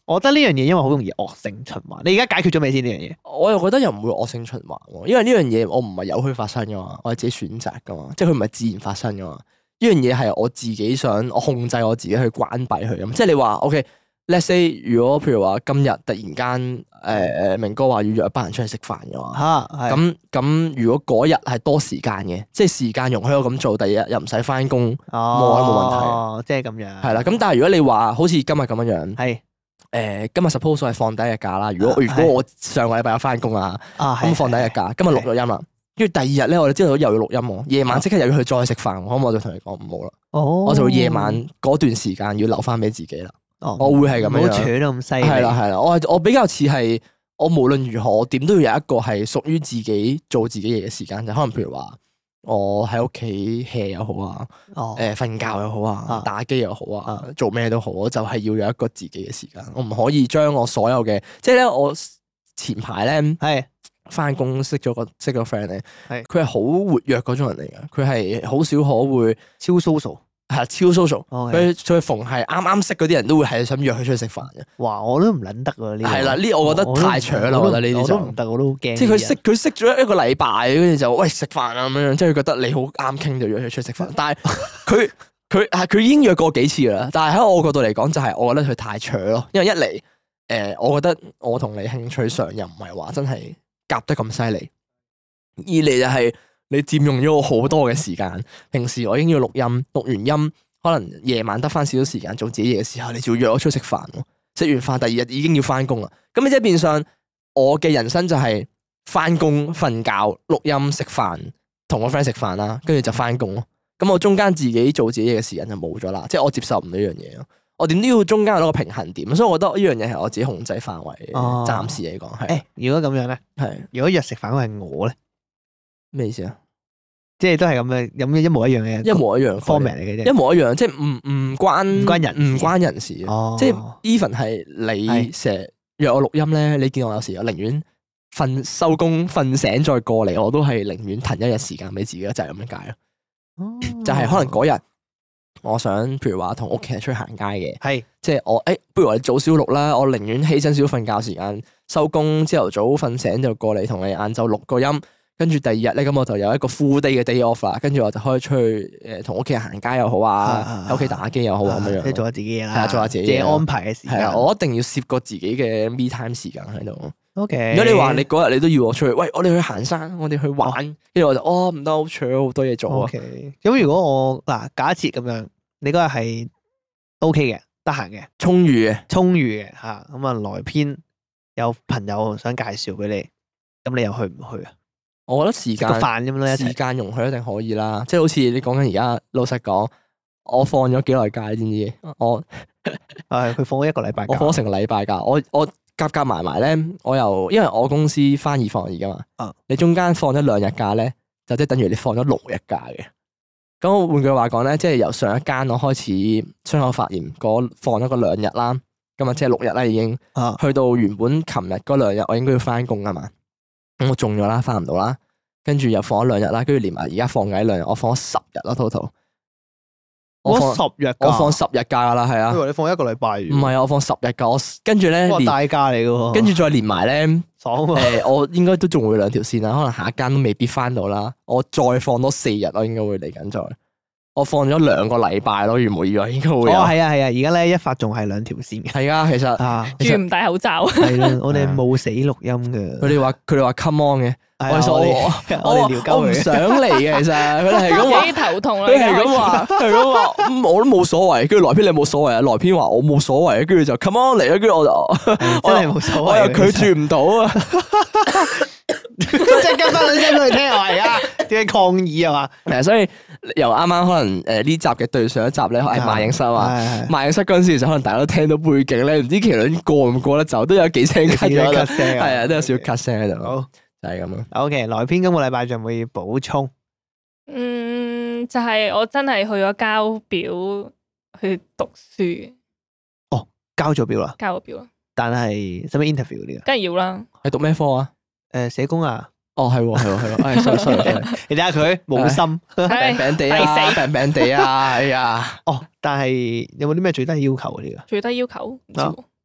我覺得呢樣嘢因為好容易惡性循環。你而家解決咗未先呢樣嘢？ 我又覺得又唔會惡性循環喎，因為呢樣嘢我唔係由佢發生噶嘛，我係自己選擇噶嘛，即係佢唔係自然發生噶嘛。呢樣嘢係我自己想我控制我自己去關閉佢咁。即係你話 OK。Let's say 如果譬如話今日突然間誒誒明哥話要約一班人出去食飯嘅話， 嚇咁咁如果嗰日係多時間嘅，即係時間容許我咁做，第二日又唔使翻工， 哦， 冇冇問題。 哦，即係咁樣。 係啦，咁但係如果你話好似今日咁樣樣， 係誒今日 suppose 係放第一日假啦。如果如果我上個禮拜有翻工啊，咁放第一日假，今日錄咗音啦，跟住第二日咧我哋知道又要錄音喎，夜晚即刻又要去再食飯，咁我就同你講唔好啦， 哦， 我就會夜晚嗰段時間要留翻俾自己啦。 哦， 我會係咁樣， 唔好扯到咁犀利。 係啦係啦，我係我比較似係我無論如何，我點都要有一個係屬於自己做自己嘢嘅時間，就可能譬如話我喺屋企 hea 又好啊，誒瞓覺又好啊，打機又好啊，做咩都好，我就係要有一個自己嘅時間，我唔可以將我所有嘅，即係咧我前排咧係翻工識咗個識個 friend 咧，係佢係好活躍嗰種人嚟嘅，佢係好少可會超 social。 係超 social，佢佢逢係啱啱識嗰啲人都會係想約佢出去食飯嘅。 哇！我都唔撚得喎呢。 係啦，呢我覺得太搶啦，我覺得呢啲就唔得，我都好驚。 即係佢識佢識咗一個禮拜，跟住就喂食飯啊咁樣，即係佢覺得你好啱傾就約佢出去食飯。但係佢佢係佢已經約過幾次啦，但係喺我角度嚟講，就係我覺得佢太搶咯。因為一嚟誒，我覺得我同你興趣上又唔係話真係夾得咁犀利，二嚟就係。你佔用咗我好多嘅時間，平時我已經要錄音，錄完音可能夜晚得翻少少時間做自己嘢嘅時候，你就要約我出去食飯，食完飯第二日已經要翻工啦。咁你即係變相我嘅人生就係翻工、瞓覺、錄音、食飯，同我 friend 食飯啦，跟住就翻工咯。咁我中間自己做自己嘢嘅時間就冇咗啦，即係我接受唔到呢樣嘢咯。我點都要中間有一個平衡點，所以我覺得呢樣嘢係我自己控制範圍。哦、暫時嚟講係。誒， 如果咁樣咧，係是如果約食飯嗰係我咧，咩意思啊？即係都係咁嘅，有咩一模一樣嘅， 一模一樣 format 嚟嘅啫， 一模一樣，即係唔唔關唔關人唔關人事， 哦、 即係 even 係你成日約我錄音咧，你見我有時我寧願瞓收工瞓醒再過嚟，我都係寧願騰一日時間俾自己，就係咁樣解咯。哦、就係可能嗰日我想譬如話同屋企人出去行街嘅，係是即係我誒、欸，不如我哋早少錄啦，我寧願犧牲少瞓覺時間，收工朝頭早瞓醒就過嚟同你晏晝錄個音。跟住第二日咧，咁我就有一個 full day 嘅 day off 啦。跟住我就可以出去誒，同屋企人行街又好啊，喺屋企打機又好啊，咁樣樣。即係做下自己嘢啦，係啊，做下自己嘢安排嘅時間。係啊，我一定要攝個自己嘅 me time 時間喺度。OK。如果你話你嗰日你都要我出去，喂，我哋去行山，我哋去玩，跟住我就哦唔得，好搶好多嘢做啊。OK。咁如果我嗱假設咁樣，你嗰日係 OK 嘅，得閒嘅，充裕嘅，充裕嘅嚇，咁啊來篇有朋友想介紹俾你，咁你又去唔去啊？我覺得時間飯咁樣時間容許一定可以啦，即係好似你講緊而家，老實講，我放咗幾耐假，你知唔知？我係佢放咗一個禮拜，我放咗成個禮拜假，我我夾夾埋埋咧，我又因為我公司翻二放二噶嘛，啊、你中間放咗兩日假咧，就即係等於你放咗六日假嘅。咁換句話講咧，即係由上一間我開始傷口發炎嗰放咗個兩日啦，咁啊即係六日啦已經，啊、去到原本琴日嗰兩日我應該要翻工噶嘛。咁我中咗啦，翻唔到啦，跟住又放咗兩日啦，跟住連埋而家放緊兩日，我放咗十日啦，total。我放十日，我放十日假啦，係啊。我以為你放一個禮拜。唔係啊，我放十日假，我跟住咧連大假嚟嘅喎。跟住再連埋咧，爽啊！誒，我應該都仲會兩條線啦，可能下一間都未必翻到啦。我再放多四日，我應該會嚟緊再。我放咗兩個禮拜咯，如無意外應該會。哦，係啊，係啊，而家咧一發仲係兩條線嘅。係啊，其實啊，仲唔戴口罩。係啦，我哋冇死錄音嘅。佢哋話佢哋話 come on 嘅，我我我哋聊鳩佢。我唔想嚟嘅，其實佢哋係咁話。幾頭痛啦！佢係咁話，係咁話，我都冇所謂。跟住來篇你冇所謂啊，來篇話我冇所謂，跟住就 come on 嚟啊，跟住我就真係冇所謂，我又拒絕唔到啊。即係跟翻兩聲佢聽係啊，點解抗議啊嘛？係啊，所以由啱啱可能誒呢集嘅對上一集咧，係萬影室啊，萬影室嗰陣時就可能大家都聽到背景咧，唔知麒麟過唔過得走，都有幾聲咳咗，係啊，都有少少咳聲喺度。好，就係咁咯。OK，來篇今個禮拜仲有冇要補充？嗯，就係我真係去咗交表去讀書。哦，交咗表啦，交咗表啦。但係使唔使 interview 嗰啲啊？梗係要啦。係讀咩科啊？誒，社工啊？哦，係喎，係喎，係喎，哎，sorry，sorry，你睇下佢冇心，病病地啊，病病地啊，哎呀，哦，但係有冇啲咩最低要求嗰啲啊？最低要求唔知，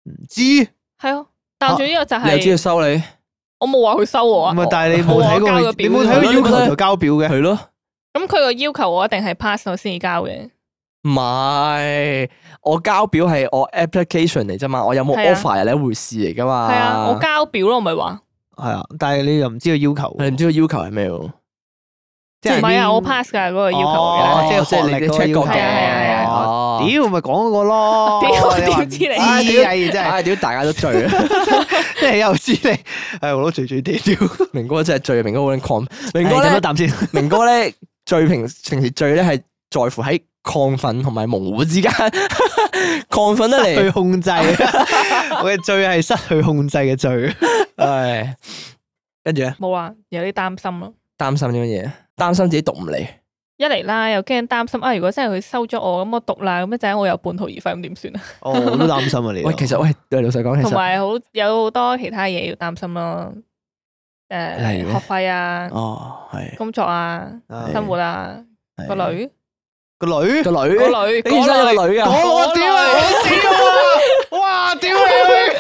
唔知係啊，但總之我就係你又知佢收你？ 我冇話佢收我啊。 唔係，但係你冇睇過，你冇睇過要求就交表嘅。 係咯。 咁佢個要求我一定係 pass 我先至交嘅。 唔係，我交表係我 application 嚟啫嘛，我有冇 offer 係另一回事嚟噶嘛。 係啊，我交表咯，我咪話。 係啊，但係你又唔知個要求。 你唔知個要求係咩喎？ 即係唔係啊？我 pass 㗎嗰個要求嘅，即係即係你 check 過嘅。 係啊係啊。 哦，屌咪講嗰個咯。 屌點知你？ 啊屌真係， 屌大家都醉啊！ 即係又知你，係我都醉醉地屌。 明哥真係醉，明哥好撚亢。明哥咧， 咧， 啖先。 明哥咧醉平平時醉咧係在乎喺亢奮同埋模糊之間，亢奮得嚟失去控制。我嘅醉係失去控制嘅醉。 唉，跟住咧冇啊，有啲擔心咯。 擔心啲乜嘢？擔心自己讀唔嚟。 一嚟啦，又驚擔心啊！如果真係佢收咗我，咁我讀啦，咁一陣我有半途而廢，咁點算啊？ 哦，我都擔心啊你。 喂，其實喂，對老實講，其實同埋好有好多其他嘢要擔心咯。誒， 例如學費啊， 哦，係工作啊，生活啊，個女， 個女， 個女， 個女， 你生咗個女啊！ 我屌啊！我屌啊！哇！屌你！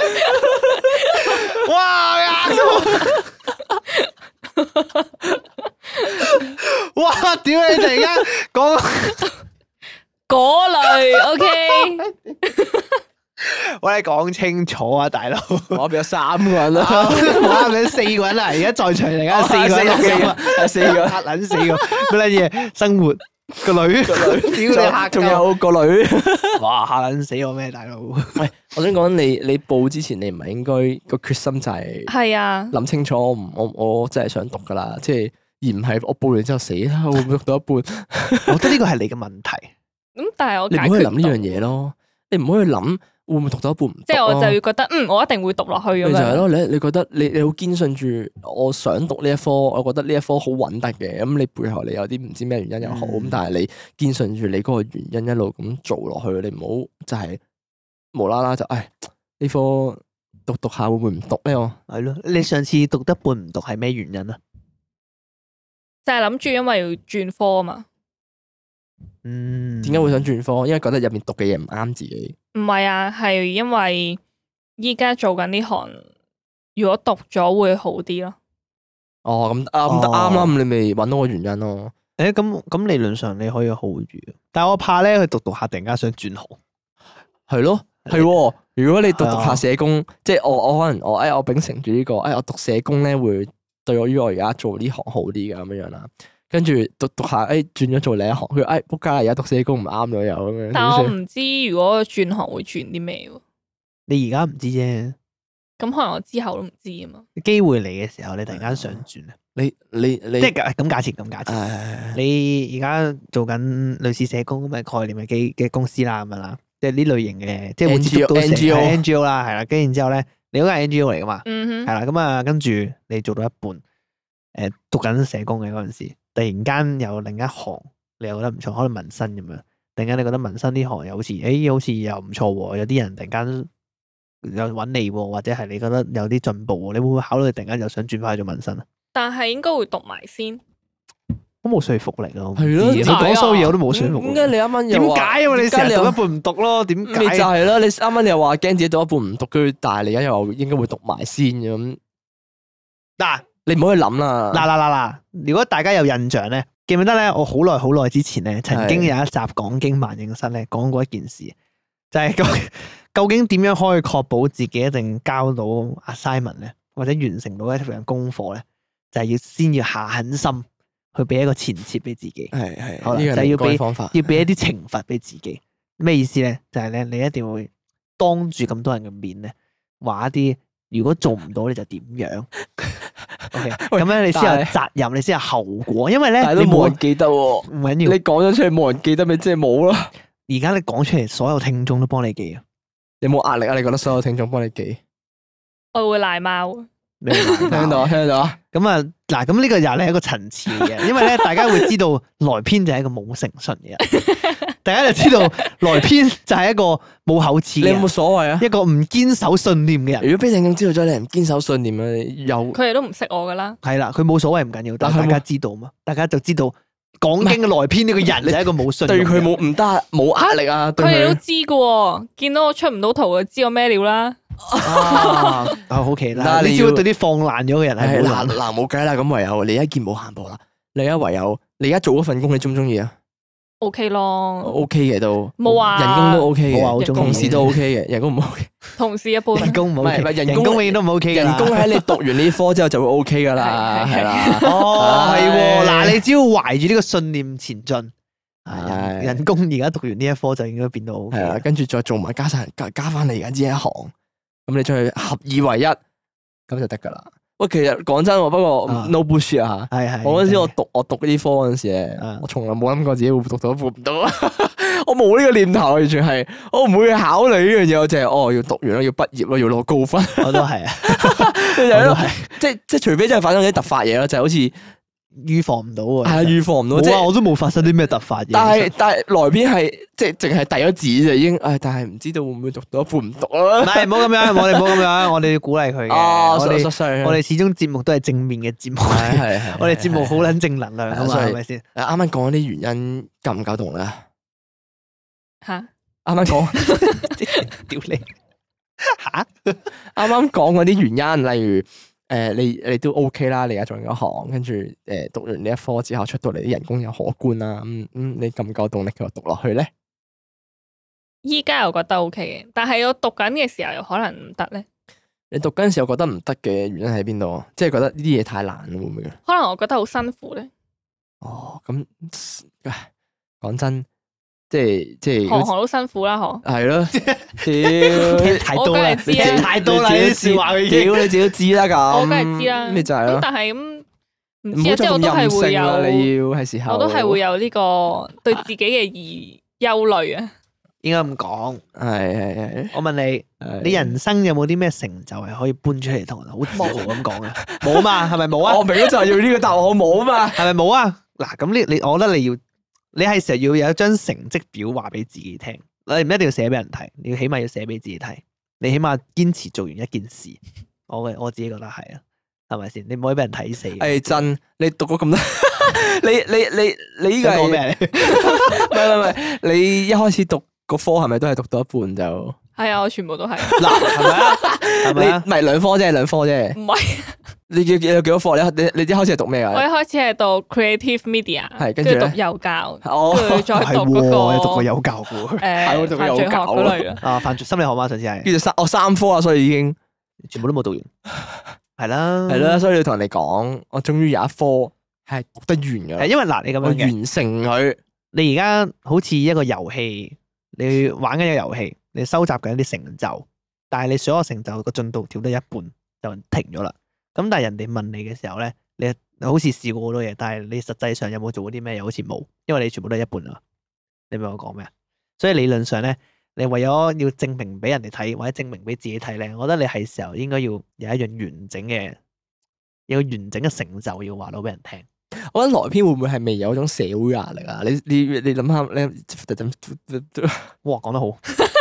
哇！哇！屌你！突然間講嗰類 ，OK。 我哋講清楚啊，大佬！ 我變咗三個人啦， 我變咗四個人啦，而家在場嚟緊四個人，四個，四個，嚇撚四個，乜撚嘢？生活個女，個女，屌你嚇！ 仲有個女， 哇！嚇撚死我咩，大佬？ 喂，我想講你，你報之前你唔係應該個決心就係係啊， 諗清楚，我唔我我真係想讀噶啦，即係而唔係我報完之後死啦，會唔會讀到一半？ 我覺得呢個係你嘅問題。 咁但係我你唔可以諗呢樣嘢咯，你唔可以諗。會唔會讀到一半唔讀？ 即係我就要覺得，嗯，我一定會讀落去咁樣。 就係咯，你你覺得你你好堅信住，我想讀呢一科，我覺得呢一科好穩得嘅。咁你背後你有啲唔知咩原因又好，咁、嗯、但係你堅信住你嗰個原因一路咁做落去，你唔好就係無啦啦就，唉，呢科讀讀下會唔會唔讀咧？我係咯，你上次讀得半唔讀係咩原因啊？ 就係諗住因為要轉科啊嘛。 嗯， 點解會想轉科？因為覺得入面讀嘅嘢唔啱自己。 唔係啊，係因為依家做緊呢行，如果讀咗會好啲咯。 哦，咁啱咁得啱啦，咁你咪搵到個原因咯。 誒，咁咁理論上你可以好住，但係我怕咧，佢讀讀下突然間想轉行。 係咯，係。如果你讀讀下社工，即係我我可能我誒我秉承住呢個，誒我讀社工咧會對我於我而家做呢行好啲嘅咁樣樣啦。跟住讀讀下，誒轉咗做另一行，佢誒仆街啦！而家讀社工唔啱咗又咁樣。 但我唔知如果轉行會轉啲咩喎？ 你而家唔知啫， 咁可能我之後都唔知啊嘛。 機會嚟嘅時候，你突然間想轉啊？ 你你你即係咁假設咁假設，你而家做緊類似社工咁嘅概念嘅機嘅公司啦，咁樣啦，即係呢類型嘅，即係會接觸到 N G O，N G O 啦，係啦，跟住然之後咧，你嗰個係 N G O 嚟噶嘛？係啦，咁啊，跟住你做到一半，誒讀緊社工嘅嗰陣時。突然間有另一行，你又覺得唔錯，可能民生咁樣。突然間你覺得民生呢行又好似，誒、欸、好似又唔錯喎。有啲人突然間又揾你喎，或者係你覺得有啲進步喎，你會唔會考慮突然間又想轉翻去做民生啊？ 但係應該會讀埋先， 都冇說服力咯。 係咯， 你講所有嘢我都冇說服力。 點解你啱啱又點解啊？你成日讀一半唔讀咯？點解？ 就係咯，你啱啱你又話驚自己讀一半唔讀，跟住但係你而家又話應該會讀埋先咁。嗱。你唔好去諗啦！ 嗱嗱嗱嗱！如果大家有印象咧，記唔記得咧？我好耐好耐之前咧，曾經有一集講經萬應室咧，講過一件事，就係、是、究究竟點樣可以確保自己一定交到 assignment 咧，或者完成到一份功課咧，就係、是、要先要下狠心去俾一個前設俾自己。係係，好啦，就係要俾要俾一啲懲罰俾自己。咩意思咧？就係、是、咧，你一定會當住咁多人嘅面咧，話一啲如果做唔到你就點樣。O.K. 咁咧，你先有責任，你先有後果，因為咧， 你冇人記得喎，唔緊要。你講咗出嚟冇人記得，咪即係冇咯。 而家你講出嚟，所有聽眾都幫你記啊！ 有冇壓力啊？你覺得所有聽眾幫你記？ 我會賴貓。 你聽到聽到啊！ 咁啊，嗱，咁呢個又係一個層次嘅，因為咧，大家會知道來編就係一個冇誠信嘅人，大家就知道來編就係一個冇口齒嘅人。 你有冇所謂啊？一個唔堅守信念嘅人。 如果俾聽眾知道咗你唔堅守信念啊，又佢哋都唔識我噶啦。 係啦，佢冇所謂唔緊要，但係大家知道嘛，大家就知道講經嘅來編呢個人就係一個冇信對佢冇唔得冇壓力啊， 佢哋都知㗎喎，見到我出唔到圖就知我咩料啦。 啊，好奇啦！你只要對啲放爛咗嘅人係嗱嗱冇計啦，咁唯有你一見冇行步啦，你而家唯有你而家做嗰份工，你中唔中意啊 ？O K 咯 ，O K 嘅都冇話人工都 O K 嘅， 嘅， 同事都 O K 嘅，人工唔 O K， 同事一般， 人工唔 O K， 人工永遠都唔 O K， 人工喺你讀完呢科之後就會 O K 噶啦，係啦， 哦係喎，嗱你只要懷住呢個信念前進。人工而家讀完呢一科就應該變到 O K，係啊， 跟住再做埋加晒加加翻你而家呢一行，咁你將佢合二為一，咁就得噶啦。喂，其實講真，不過 no bullshit 啊，係係。我嗰陣時我讀我讀呢科嗰陣時咧，我從來冇諗過自己會讀到一半唔到，我冇呢個念頭，完全係我唔會去考慮呢樣嘢，我淨係哦要讀完咯，要畢業咯，要攞高分。 我都係啊， 我都係，即係即係除非真係發生啲突發嘢咯，就係好似。 預防唔到喎， 係啊，預防唔到， 即係我都冇發生啲咩突發嘢。 但係但係來邊係即係淨係遞咗紙就已經，誒，但係唔知道會唔會讀到一半唔讀啊？ 唔係，唔好咁樣，我哋唔好咁樣，我哋要鼓勵佢嘅。我哋我哋始終節目都係正面嘅節目，係係係，我哋節目好撚正能量啊嘛，係咪先？ 啱啱講嗰啲原因夠唔夠動咧？ 吓， 啱啱講， 屌你吓， 啱啱講嗰啲原因，例如。誒、呃，你你都 OK 啦，你而家做緊嗰行，跟住誒讀完呢一科之後出到嚟啲人工又可觀啦，咁、嗯、咁你夠唔夠動力繼續讀落去咧？ 依家又覺得 OK 嘅，但係我讀緊嘅時候又可能唔得咧。 你讀緊嘅時候覺得唔得嘅原因喺邊度？即係覺得呢啲嘢太難會唔會？ 可能我覺得好辛苦咧。 哦，咁講真。即係即係， 行行都辛苦啦，嗬。 係咯，屌， 太多啦， 知太多啦，啲笑話佢已經， 屌你自己都知啦咁。 我梗係知啦， 咩就係咯。 但係咁唔知啊，即係我都係會有， 你要係時候， 我都係會有呢個對自己嘅而憂慮啊。 應該咁講， 係係係。 我問你，你人生有冇啲咩成就係可以搬出嚟同人好自豪咁講啊？冇啊嘛，係咪冇啊？ 我明咗就係要呢個答案，我冇啊嘛， 係咪冇啊？嗱，咁呢，你我覺得你要。你係時候要有一張成績表話俾自己聽，你唔一定要寫俾人睇，你要起碼要寫俾自己睇。你起碼堅持做完一件事，我嘅我自己覺得係啊，係咪先？你唔可以俾人睇死。係真，你讀咗咁多，你你你你呢個係咩？唔係唔係，你一開始讀個科係咪都係讀到一半就？係啊，我全部都係。嗱，係咪啊？係咪啊？唔係兩科啫，兩科啫。唔係。你叫有幾多課？你你你一開始係讀咩啊？我一開始係讀 creative media，係跟住讀幼教，跟住再讀嗰個，你讀過幼教嘅？誒，讀過幼教嗰類啊，犯罪心理學嘛，上次係。跟住三，我三科啊，所以已經全部都冇讀完。係啦，係啦，所以要同人哋講，我終於有一科係讀得完嘅。係因為嗱，你咁樣完成佢，你而家好似一個遊戲，你玩緊一個遊戲，你收集緊一啲成就，但係你所有成就個進度跳得一半就停咗啦。咁但係人哋問你嘅時候咧，你好似試過好多嘢，但係你實際上有冇做過啲咩？又好似冇，因為你全部都係一半啊。你明我講咩啊？所以理論上咧，你為咗要證明俾人哋睇，或者證明俾自己睇咧，我覺得你係時候應該要有一樣完整嘅，有完整嘅成就要話到俾人聽。我覺得來篇會唔會係未有一種社會壓力啊？你你你諗下，你哇講得好，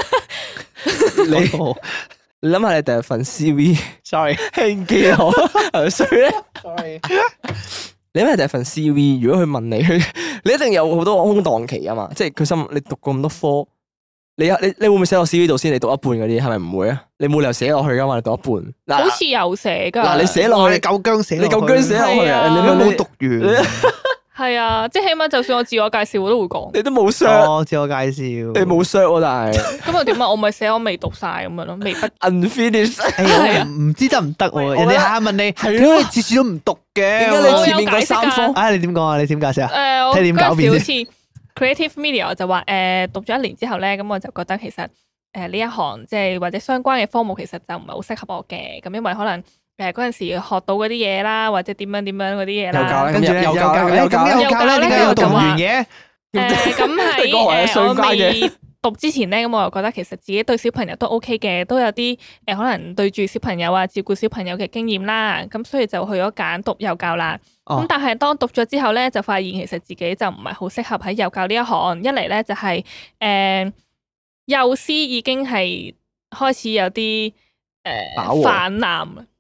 你。你諗下你第一份 C V，sorry， 輕機我係咪衰咧？sorry， 你諗下第一份 C V， 如果佢問你，你一定有好多空檔期啊嘛，即係佢心你讀過咁多科，你你你會唔會寫落 C V 度先？你讀一半嗰啲係咪唔會啊？你冇理由寫落去噶嘛？你讀一半，好似有寫噶。嗱，你寫落去，你夠薑寫，你夠薑寫落去啊！你都冇讀完。係啊，即係起碼就算我自我介紹我都會講。你都冇 share 自我介紹，你冇 share 喎，但係咁又點啊？我咪寫我未讀晒咁樣咯，未畢 unfinished。唔知得唔得喎？人哋下下問你，點解你次次都唔讀嘅？點解你前面嗰三科？啊，你點講啊？你點解釋啊？誒，睇點狡辯先。好似 creative media 我就話誒，讀咗一年之後咧，咁我就覺得其實誒呢一行即係或者相關嘅科目其實就唔係好適合我嘅，咁因為可能。誒嗰陣時學到嗰啲嘢啦，或者點樣點樣嗰啲嘢啦，跟住咧又教咧，又教咧，又教咧，點解又讀完嘅？誒咁喺誒我未讀之前咧，咁我又覺得其實自己對小朋友都 OK 嘅，都有啲誒可能對住小朋友啊，照顧小朋友嘅經驗啦，咁所以就去咗揀讀幼教啦。咁但係當讀咗之後咧，就發現其實自己就唔係好適合喺幼教呢一行。一嚟咧就係誒幼師已經係開始有啲誒泛濫。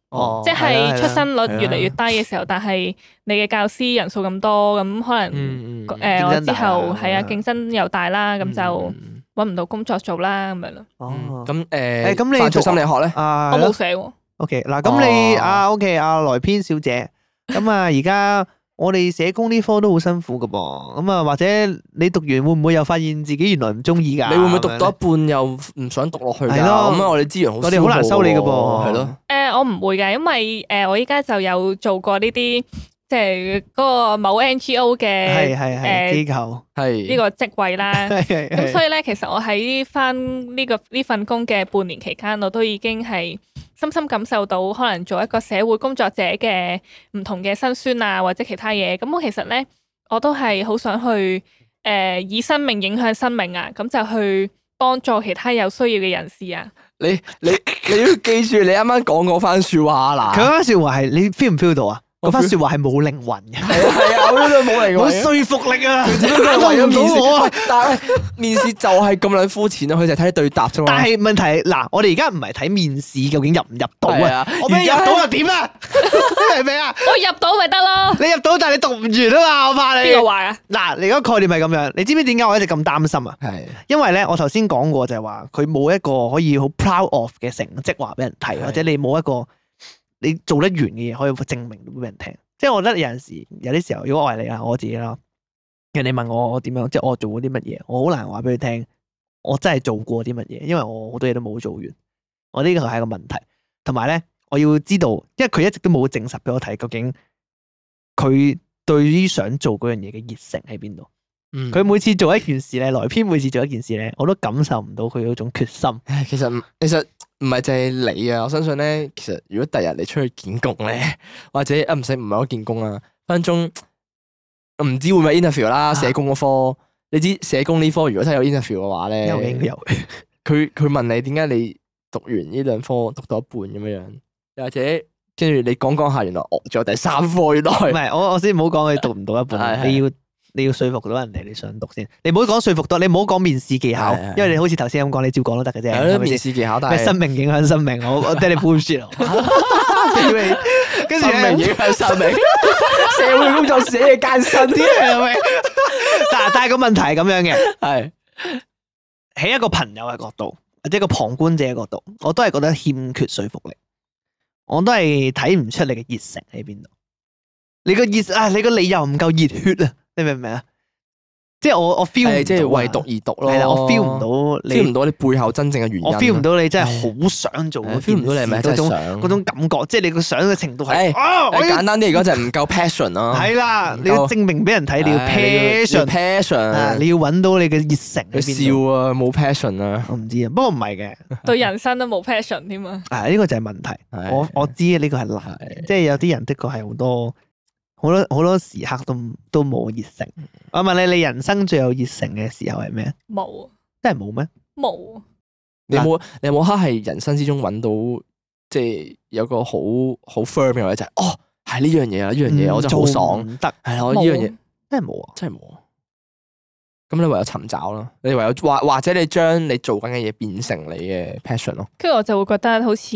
哦， 即係出生率係啊越嚟越低嘅時候，但係你嘅教師人數咁多，咁可能嗯嗯誒我之競爭大後啊係啊競爭又大啦，咁就嗯揾唔到工作做啦咁樣咯。 哦， 咁誒， 誒咁你犯罪讀心理學咧？ 啊， 我係咯冇寫喎， OK，嗱，咁你哦啊 OK，阿萊編小姐，咁啊而家我哋社工呢科都好辛苦噶噃，咁啊或者你讀完會唔會又發現自己原來唔中意㗎？ 你會唔會讀到一咁樣半又唔想讀落去㗎？ 係咯咁啊，我哋資源好， 我哋好難收你㗎噃係咯。 誒我唔會嘅，因為誒我依家就有做過呢啲即係嗰個某 N G O 係嘅係係誒機構， 係呢個職位啦。 係係係咁所以咧，其實我喺翻呢個呢份工嘅半年期間，我都已經係深深感受到可能做一個社會工作者嘅唔同嘅辛酸啊，或者其他嘢。咁我其實咧，我都係好想去誒、呃、以生命影響生命啊，咁就去幫助其他有需要嘅人士啊。 你你你要記住你啱啱講嗰番説話啦。 佢嗰番説話係你 feel 唔 feel 到啊？嗰我番 feel 説話係冇靈魂嘅， 係啊係啊，我都冇嚟冇㗎。 說服力啊！ 只不過係為咗面打動唔到我啊試，但係面試就係咁撚膚淺咯，佢就係睇你對答啫嘛。 但係問題嗱，我哋而家唔係睇面試究竟入唔入到啊係啊， 我俾你入而家到又點啊？你明唔明啊？ 我入到咪得咯？ 你入到，但係你讀唔完啊嘛，我怕你邊。個話啊？ 嗱，你嗰個概念係咁樣，你知唔知點解我一直咁擔心啊？ 係因為咧，我頭先講過就係話，佢冇一個可以好 proud of 嘅成績話俾人睇， 係或者你冇一個你做得完嘅嘢可以證明到俾人聽。即係我覺得有陣時，有啲時候，如果我係你啊，我自己啦，人哋問我我點樣，即係我做過啲乜嘢，我好難話俾佢聽，我真係做過啲乜嘢，因為我好多嘢都冇做完。我呢個係一個問題，同埋咧，我要知道，因為佢一直都冇證實俾我睇，究竟佢對於想做嗰樣嘢嘅熱誠喺邊度。 嗯佢每次做一件事咧，萊編每次做一件事咧，我都感受唔到佢嗰種決心。 唉其實唔其實唔係淨係你啊，我相信咧，其實如果第日你出去見工咧，或者啊唔使唔係我見工啊，分分鐘唔知會唔會 interview 啦，社工嗰科，你知社工呢科如果真係有 interview 嘅話咧， 有應有， 佢佢問你點解你讀完呢兩科讀到一半咁樣樣，又或者跟住你講講下，原來哦仲有第三科，原來唔係我我先唔好講佢讀唔到一半， 係係你要你要說服到人哋你想讀先，你唔好講說服到，你唔好講面試技巧係係， 因為你好似頭先咁講，你照講都得嘅啫， 係咯係咪先？ 面試技巧，但咩係生命影響生命，我我聽你 bullshit 啊！跟住生命咧， 影響生命，社會工作者嘅艱辛啲係咪？但但係個問題係咁樣嘅， 係喺一個朋友嘅角度，或者一個旁觀者嘅角度，我都係覺得欠缺說服力，我都係睇唔出你嘅熱誠喺邊度。你個熱啊，你個理由唔夠熱血啊！你明唔明啊？即係我我 feel 唔到啊， 即係為讀而讀咯， 係啦，我 feel 唔到你 feel 唔到你背後真正嘅原因， 我 feel 唔到你真係好想做嗰件 feel 唔到你係咪事嗰種真係想嗰種感覺，即係你個想嘅程度係誒啊！我誒要簡單啲嚟講就係唔夠 passion 咯， 係啦， 唔夠你要證明俾人睇，你要唉你要 passion， passion， 啊你要揾到你嘅熱誠喺佢邊度。 笑啊冇 passion 啊， 我唔知啊，不過唔係嘅， 對人生都冇 passion 添啊！ 啊呢個就係問題。 係我我知呢個係難嘅， 係即係有啲人的確係好多好多好多時刻都都冇熱誠。我問你，你人生最有熱誠嘅時候係咩？ 冇真係冇咩？ 冇， 你有冇你有冇刻係人生之中揾到即係有個好好 firm 嘅位就係哦係呢樣嘢啊呢樣嘢我真係好爽， 唔得， 係啦我呢樣嘢冇真係冇啊！ 真係冇啊。咁你唯有尋找啦，你唯有或或者你將你做緊嘅嘢變成你嘅 passion 咯。 跟住我就會覺得好似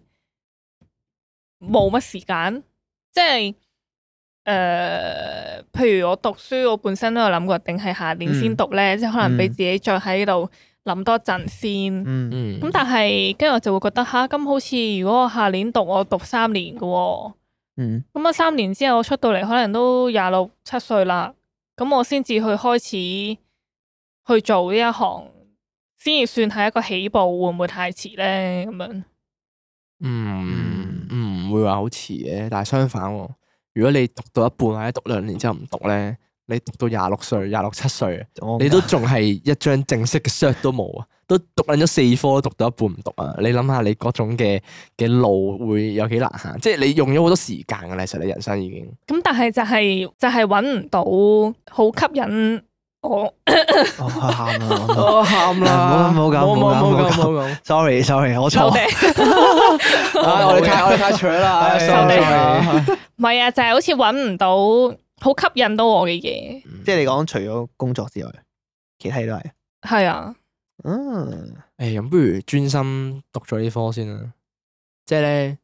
冇乜時間，即係誒、呃譬如我讀書，我本身都有諗過，定係下年先讀咧，即係可能俾自己再喺度諗多陣先。 嗯， 嗯咁但係跟住我就會覺得吓，咁好似如果我下年讀，我讀三年嘅喎， 嗯， 咁我三年之後我出到嚟，可能都廿六七歲啦，咁我先至去開始去做呢一行，先至算係一個起步，會唔會太遲咧？咁樣嗯唔會話好遲嘅，但係相反喎，如果你讀到一半或者讀兩年之後唔讀咧，你讀到廿六歲、廿六七歲， 我你都仲係一張正式嘅 cert 都冇啊，都讀緊咗四科，讀到一半唔讀啊！你諗下你嗰種嘅嘅路會有幾難行？即係你用咗好多時間㗎啦，其實你人生已經咁，但係就係、就係揾唔到好吸引我。 我喊啦！ 我喊啦唔好咁唔好咁唔好咁冇咁。 sorry sorry，我錯。 收嗲， 唉，我哋太我哋太蠢啦唉收 ，sorry 嗲唔係啊，就係、好似揾唔到好吸引到我嘅嘢。 即係你講除咗工作之外，其他嘢都係。 係啊， 嗯， 誒，咁不如專心讀咗呢科先啦。即係咧，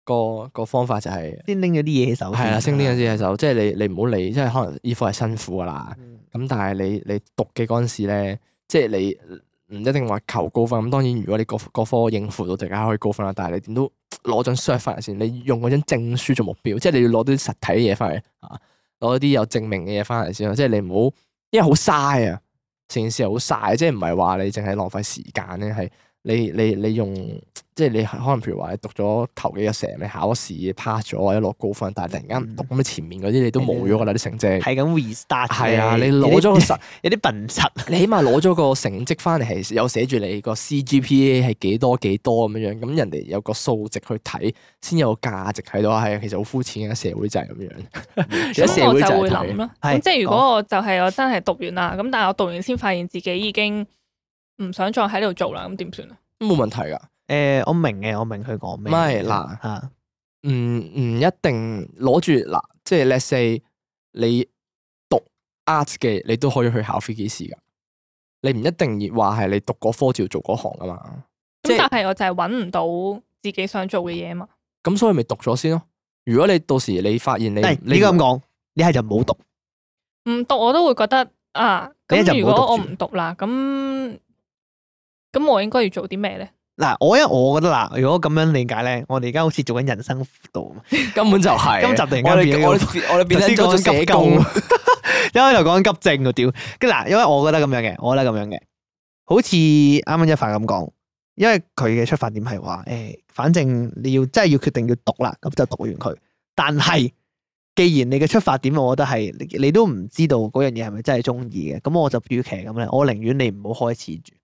個個方法就係先拎咗啲嘢喺手。 係啦，先拎咗啲嘢喺手，即係你你唔好理，即係可能呢科係辛苦噶啦。咁、嗯、但係你你讀嘅嗰陣時咧，即係你唔一定話求高分。咁當然，如果你嗰嗰科應付到，大家可以高分啦。但係你點都攞張 cert 翻嚟先，你用嗰張證書做目標，即係你要攞啲實體嘅嘢翻嚟啊，攞啲有證明嘅嘢翻嚟先咯。即係你唔好，因為好嘥啊，成件事係好嘥，即係唔係話你淨係浪費時間咧，係你你你用。即係你可能譬如話你讀咗頭幾個成，你考試 pass 咗或者攞高分，但係突然間唔讀咁，你前面嗰啲你都冇咗噶啦啲成績。係咁 restart。係啊，你攞咗個實有啲笨柒。你起碼攞咗個成績翻嚟係有寫住你個 C G P A 係幾多幾多咁樣樣，咁人哋有個數值去睇，先有價值喺度。係其實好膚淺嘅社會就係咁樣。而家社會就會諗咯。 咁即係如果我就係我真係讀完啦，咁但係我讀完先發現自己已經唔想再喺度做啦，咁點算啊？ 冇問題噶。 誒、呃，我明嘅，我明佢講咩。 唔係嗱，吓，唔唔一定攞住嗱，即係 let's say 你讀 art 嘅，你都可以去考飛機師噶。你唔一定要話係你讀嗰科就要做嗰行噶嘛。 咁但係我就係搵唔到自己想做嘅嘢嘛。 咁所以咪讀咗先咯。如果你到時你發現你， 你應該咁講，你係就唔好讀。 唔讀我都會覺得啊，咁如果我唔讀啦，咁咁我應該要做啲咩咧？ 嗱，我因為我覺得嗱，如果咁樣理解咧，我哋而家好似做緊人生輔導， 根本就係、是。今集突然間變咗，我哋變咗做咗社工， 一開頭講緊急症個屌，跟嗱，因為我覺得咁樣嘅，我覺得咁樣嘅，好似啱啱一發咁講，因為佢嘅出發點係話，誒、欸，反正你要真係要決定要讀啦，咁就讀完佢。但係，既然你嘅出發點，我覺得係你，你都唔知道嗰樣嘢係咪真係中意嘅，咁我就與其咁咧，我寧願你唔好開始住。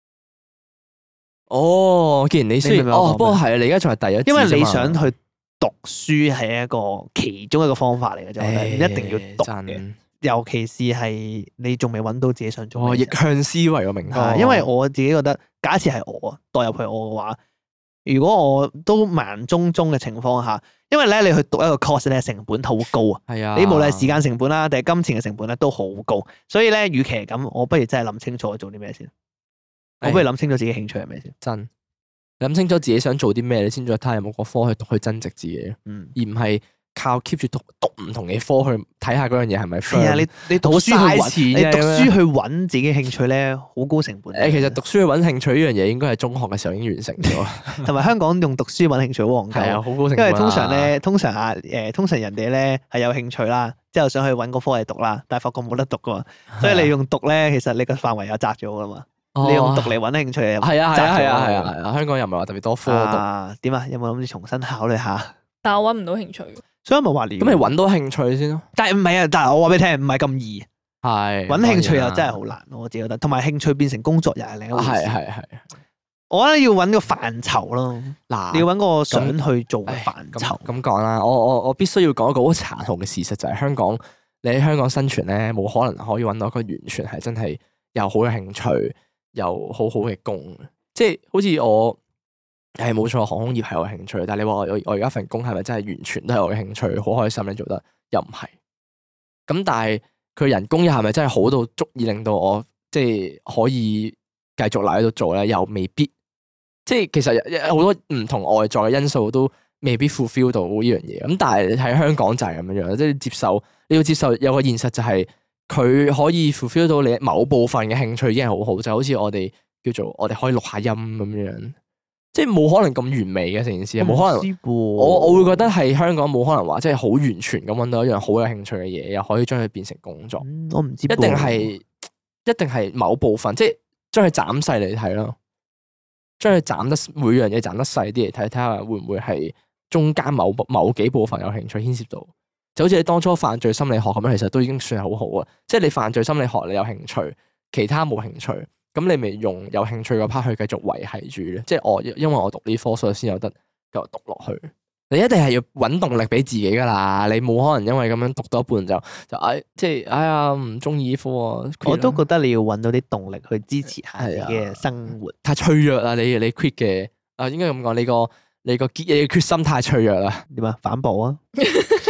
哦，既然你雖然哦，不過係啊，你而家仲係第一， 因為你想去讀書係一個其中一個方法嚟嘅啫，唔、欸、一定要讀嘅。尤其是係你仲未揾到自己想做嘅。哦，逆向思維個名啊，因為我自己覺得，假設係我代入去我嘅話，如果我都盲中中嘅情況下，因為咧你去讀一個 course 咧成本好高啊，係啊，你無論係時間成本啦，定係金錢嘅成本咧都好高，所以咧，與其係咁，我不如真係諗清楚做啲咩先。我不如諗清楚自己興趣係咩先， 真諗清楚自己想做啲咩，你先再睇下有冇個科去讀去增值自己，嗯，而唔係靠 keep 住讀讀唔同嘅科去睇下嗰樣嘢係咪。係啊，你你讀書去揾，你讀書去揾自己興趣咧，好高成本。誒，其實讀書去揾興趣呢樣嘢，應該係中學嘅時候已經完成咗。同埋香港用讀書揾興趣好戇鳩，係啊，好高成本。因為通常咧，通常啊，誒，通常人哋咧係有興趣啦，之後想去揾個科嚟讀啦，但係發覺冇得讀噶嘛，所以你用讀咧，其實你個範圍又窄咗噶嘛。你用讀嚟揾興趣嘅，係啊係啊係啊係啊係啊！香港又唔係話特別多科讀，點啊？有冇諗住重新考慮下？但係我揾唔到興趣，所以咪話你咁，你揾到興趣先咯。但係唔係啊？但係我話俾你聽，唔係咁易。係揾興趣又真係好難，我自己覺得。同埋興趣變成工作又係另一回事。係係係。我覺得要揾個範疇咯。嗱，你要揾個想去做嘅範疇。咁講啦，我我我必須要講一個好殘酷嘅事實，就係香港，你喺香港生存咧，冇可能可以揾到一個完全係真係又好有興趣。有好好嘅工，即係好似我係冇錯，航空業係我興趣。但係你話我我而家份工係咪真係完全都係我嘅興趣？好開心你做得又唔係。咁但係佢人工又係咪真係好到足以令到我即係可以繼續留喺度做咧？又未必。即係其實好多唔同外在嘅因素都未必 fulfill 到呢樣嘢。咁但係喺香港就係咁樣樣，即係接受你要接受有個現實就係、是。佢可以 fulfill 到你某部分嘅興趣已經係好好，就好似我哋叫做我哋可以錄下音咁樣，即係冇可能咁完美嘅成件事，冇可能。我我會覺得係香港冇可能話即係好完全咁揾到一樣好有興趣嘅嘢，又可以將佢變成工作。嗯、我唔知，一定係一定係某部分，即係將佢斬細嚟睇咯，將佢斬得每樣嘢斬得細啲嚟睇，睇下會唔會係中間某某幾部分有興趣牽涉到。就好似你當初犯罪心理學咁樣，其實都已經算係好好啊！即係你犯罪心理學你有興趣，其他冇興趣，咁你咪用有興趣嗰 part 去繼續維繫住咧。即係我因為我讀呢科，所以先有得繼續讀落去。你一定係要搵動力俾自己噶啦，你冇可能因為咁樣讀到一半就就哎即係哎呀唔中意呢科啊！我都覺得你要搵到啲動力去支持下自己嘅生活。太脆弱啦！你你 quit 嘅啊，應該咁講，你個你個結你嘅決心太脆弱啦。點啊？反駁啊！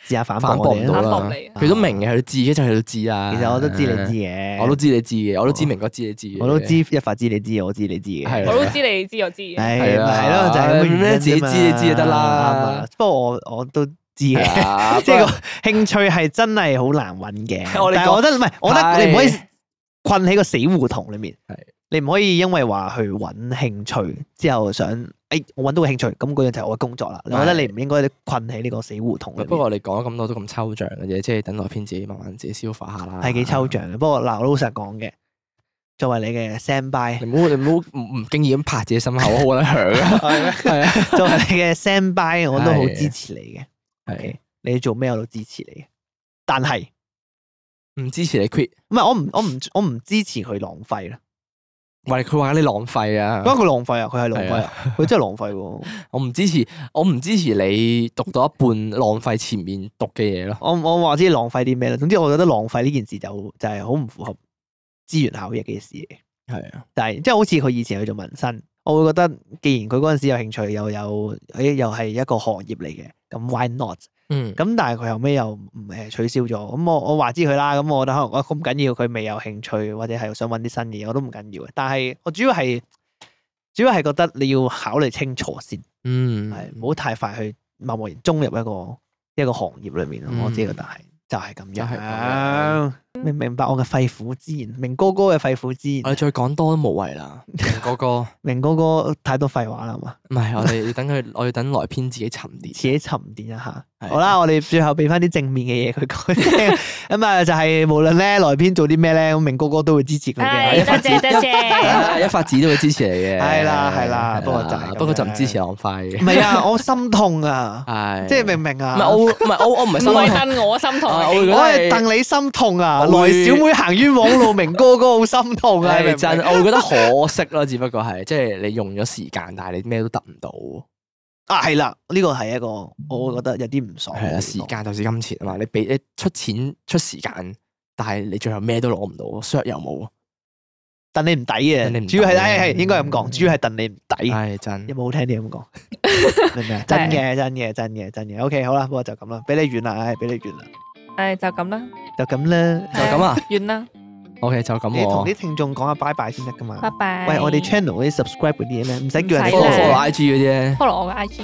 試下反反駁我哋啊。 駁唔到啦。佢都明嘅，佢知嘅就係都知啦。 其實我都知你知嘅， 我都知你知嘅，我都知明哥知你知嘅， 我都知一發知你知，我知你知嘅。 係我都知你知我知嘅。 係係啦咪係咯，就係咁嘅原因自己知你知就得啦。 不過我我都知嘅，即係個興趣係真係好難揾嘅。但係我覺得唔係，我覺得你唔可以困喺個死胡同裏面。 係你唔可以因為話去揾興趣之後想，誒我揾到個興趣，咁嗰樣就係我嘅工作啦。我覺得你唔應該困喺呢個死胡同裏面。 不過我哋講咗咁多都咁抽象嘅嘢，即係等萊編自己慢慢自己消化下啦。 係幾抽象嘅，不過嗱，我老實講嘅，作為你嘅 standby， 你唔好你唔好唔唔經意咁拍自己心口，好得響啊！ 係咩？ 係啊， 作為你嘅 standby，我都好支持你嘅。 係 OK，你做咩我都支持你嘅，但係唔支持你 quit。 唔係我唔我唔我唔支持佢浪費啦。 喂，佢話你浪費啊！ 咁佢浪費啊，佢係浪費啊，佢真係浪費喎。 我唔支持，我唔支持你讀到一半浪費前面讀嘅嘢咯。 我我話知浪費啲咩咧？總之我覺得浪費呢件事就就係好唔符合資源效益嘅事嚟嘅。 係啊， 但係即係好似佢以前去做紋身，我會覺得既然佢嗰陣時有興趣，又有誒又係一個行業嚟嘅，咁 why not？ 嗯， 咁但係佢後尾又唔誒取消咗，咁我我話知佢啦，咁我覺得可能我咁緊要，佢未有興趣或者係想揾啲新嘢，我都唔緊要嘅。但係我主要係主要係覺得你要考慮清楚先， 嗯， 係唔好太快去貿貿然衝入一個一個行業裏面咯。我自己覺得係就係咁就係咁樣。明唔明白我嘅肺腑之言？明哥哥嘅肺腑之言我，哋再講多都無謂啦。明哥哥， 明哥哥太多廢話啦，係嘛？ 唔係我哋要等佢，我要等萊編自己沉澱。 自己沉澱一下。 係好啦，我哋最後俾翻啲正面嘅嘢佢講聽。咁啊，就係無論咧萊編做啲咩咧，咁明哥哥都會支持佢嘅。 係多謝多謝。 一發子都會支持你嘅。 係啦係啦係不過就係咁樣不過就唔支持浪費。 唔係啊，我心痛啊， 係， 即係明唔明啊？ 唔係我，唔係我，我唔係唔心痛。 係戥我心痛啊， 啊我會覺得我係戥你心痛啊！ 我會來小妹行冤枉路，明哥哥好心痛啊！你明唔明係真，我會覺得可惜咯，只不過係即係你用咗時間，但係你咩都得唔到。 啊，係啦，呢個係一個我會覺得有啲唔爽。 係啊，時間就是金錢啊嘛，你俾你出錢出時間，但係你最後咩都攞唔到，short 又冇， 戥你唔抵戥你唔抵嘅，主要係係係應該係咁講，主要係戥你唔抵。 係真有。冇好聽啲咁講？明唔明啊？真嘅，真嘅，真嘅，真嘅。OK，好啦，不過就咁啦，俾你完啦，唉，俾你完啦， 誒就咁啦， 就咁啦。 就咁啊完啦， OK，就咁你同喎。 啲聽眾講下拜拜先得噶嘛？ 拜拜。 喂，我哋 channel 嗰啲 subscribe 嗰啲嘢咧，唔使叫人哋唔使 follow 啦 follow I G 嗰啲咧， follow 我嘅 I G。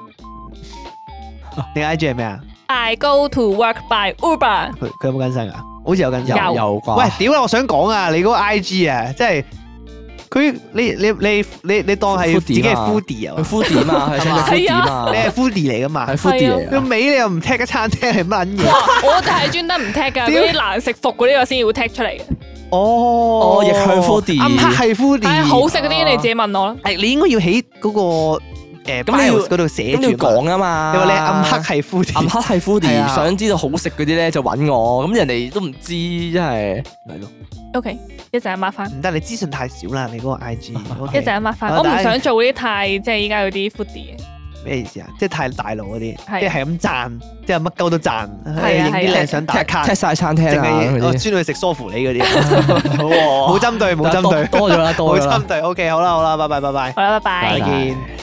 你 I G 係咩啊？ I go to work by Uber。 佢佢有冇更新啊？好似有更新。 有有啩？ 喂，屌啦！我想講啊，你嗰個 I G 啊，即係佢你你你你你當係自己係 foodie 啊佢？foodie 嘛，佢想做 foodie 嘛， 你係 foodie 嚟噶嘛？ 係 foodie 嚟個㗎。 尾你又唔踢嘅餐廳係乜嘢？ 哇！我就係專登唔踢㗎，嗰啲難食服嗰啲我先要踢出嚟嘅。 哦哦逆向 foodie 暗黑係 foodie。 係好食嗰啲你自己問我啦。 係你應該要喺嗰個誒咁你要 bios 嗰度寫咁你要住嘛。 講啊嘛。 你話你係暗黑係 foodie。 暗黑係係 foodie， 啊想知道好食嗰啲咧就揾我，咁人哋都唔知，真係係咯。 OK，一陣抹翻， 唔得，你資訊太少啦，你嗰個 I G。 一陣抹翻。 啊我唔想做嗰啲太即係依家嗰啲 foodie 嘅。 咩意思啊？即係太大路嗰啲，即係係係咁讚，即係乜鳩都讚， 係啊影啲靚相打卡， 踢晒餐廳淨啊係我專嗰啲， 去食梳芙梨嗰啲，冇針對冇針對， 多多咗啦， 冇多咗啦針。對。OK，好啦好啦，拜拜拜拜， 好啦，拜拜再。見。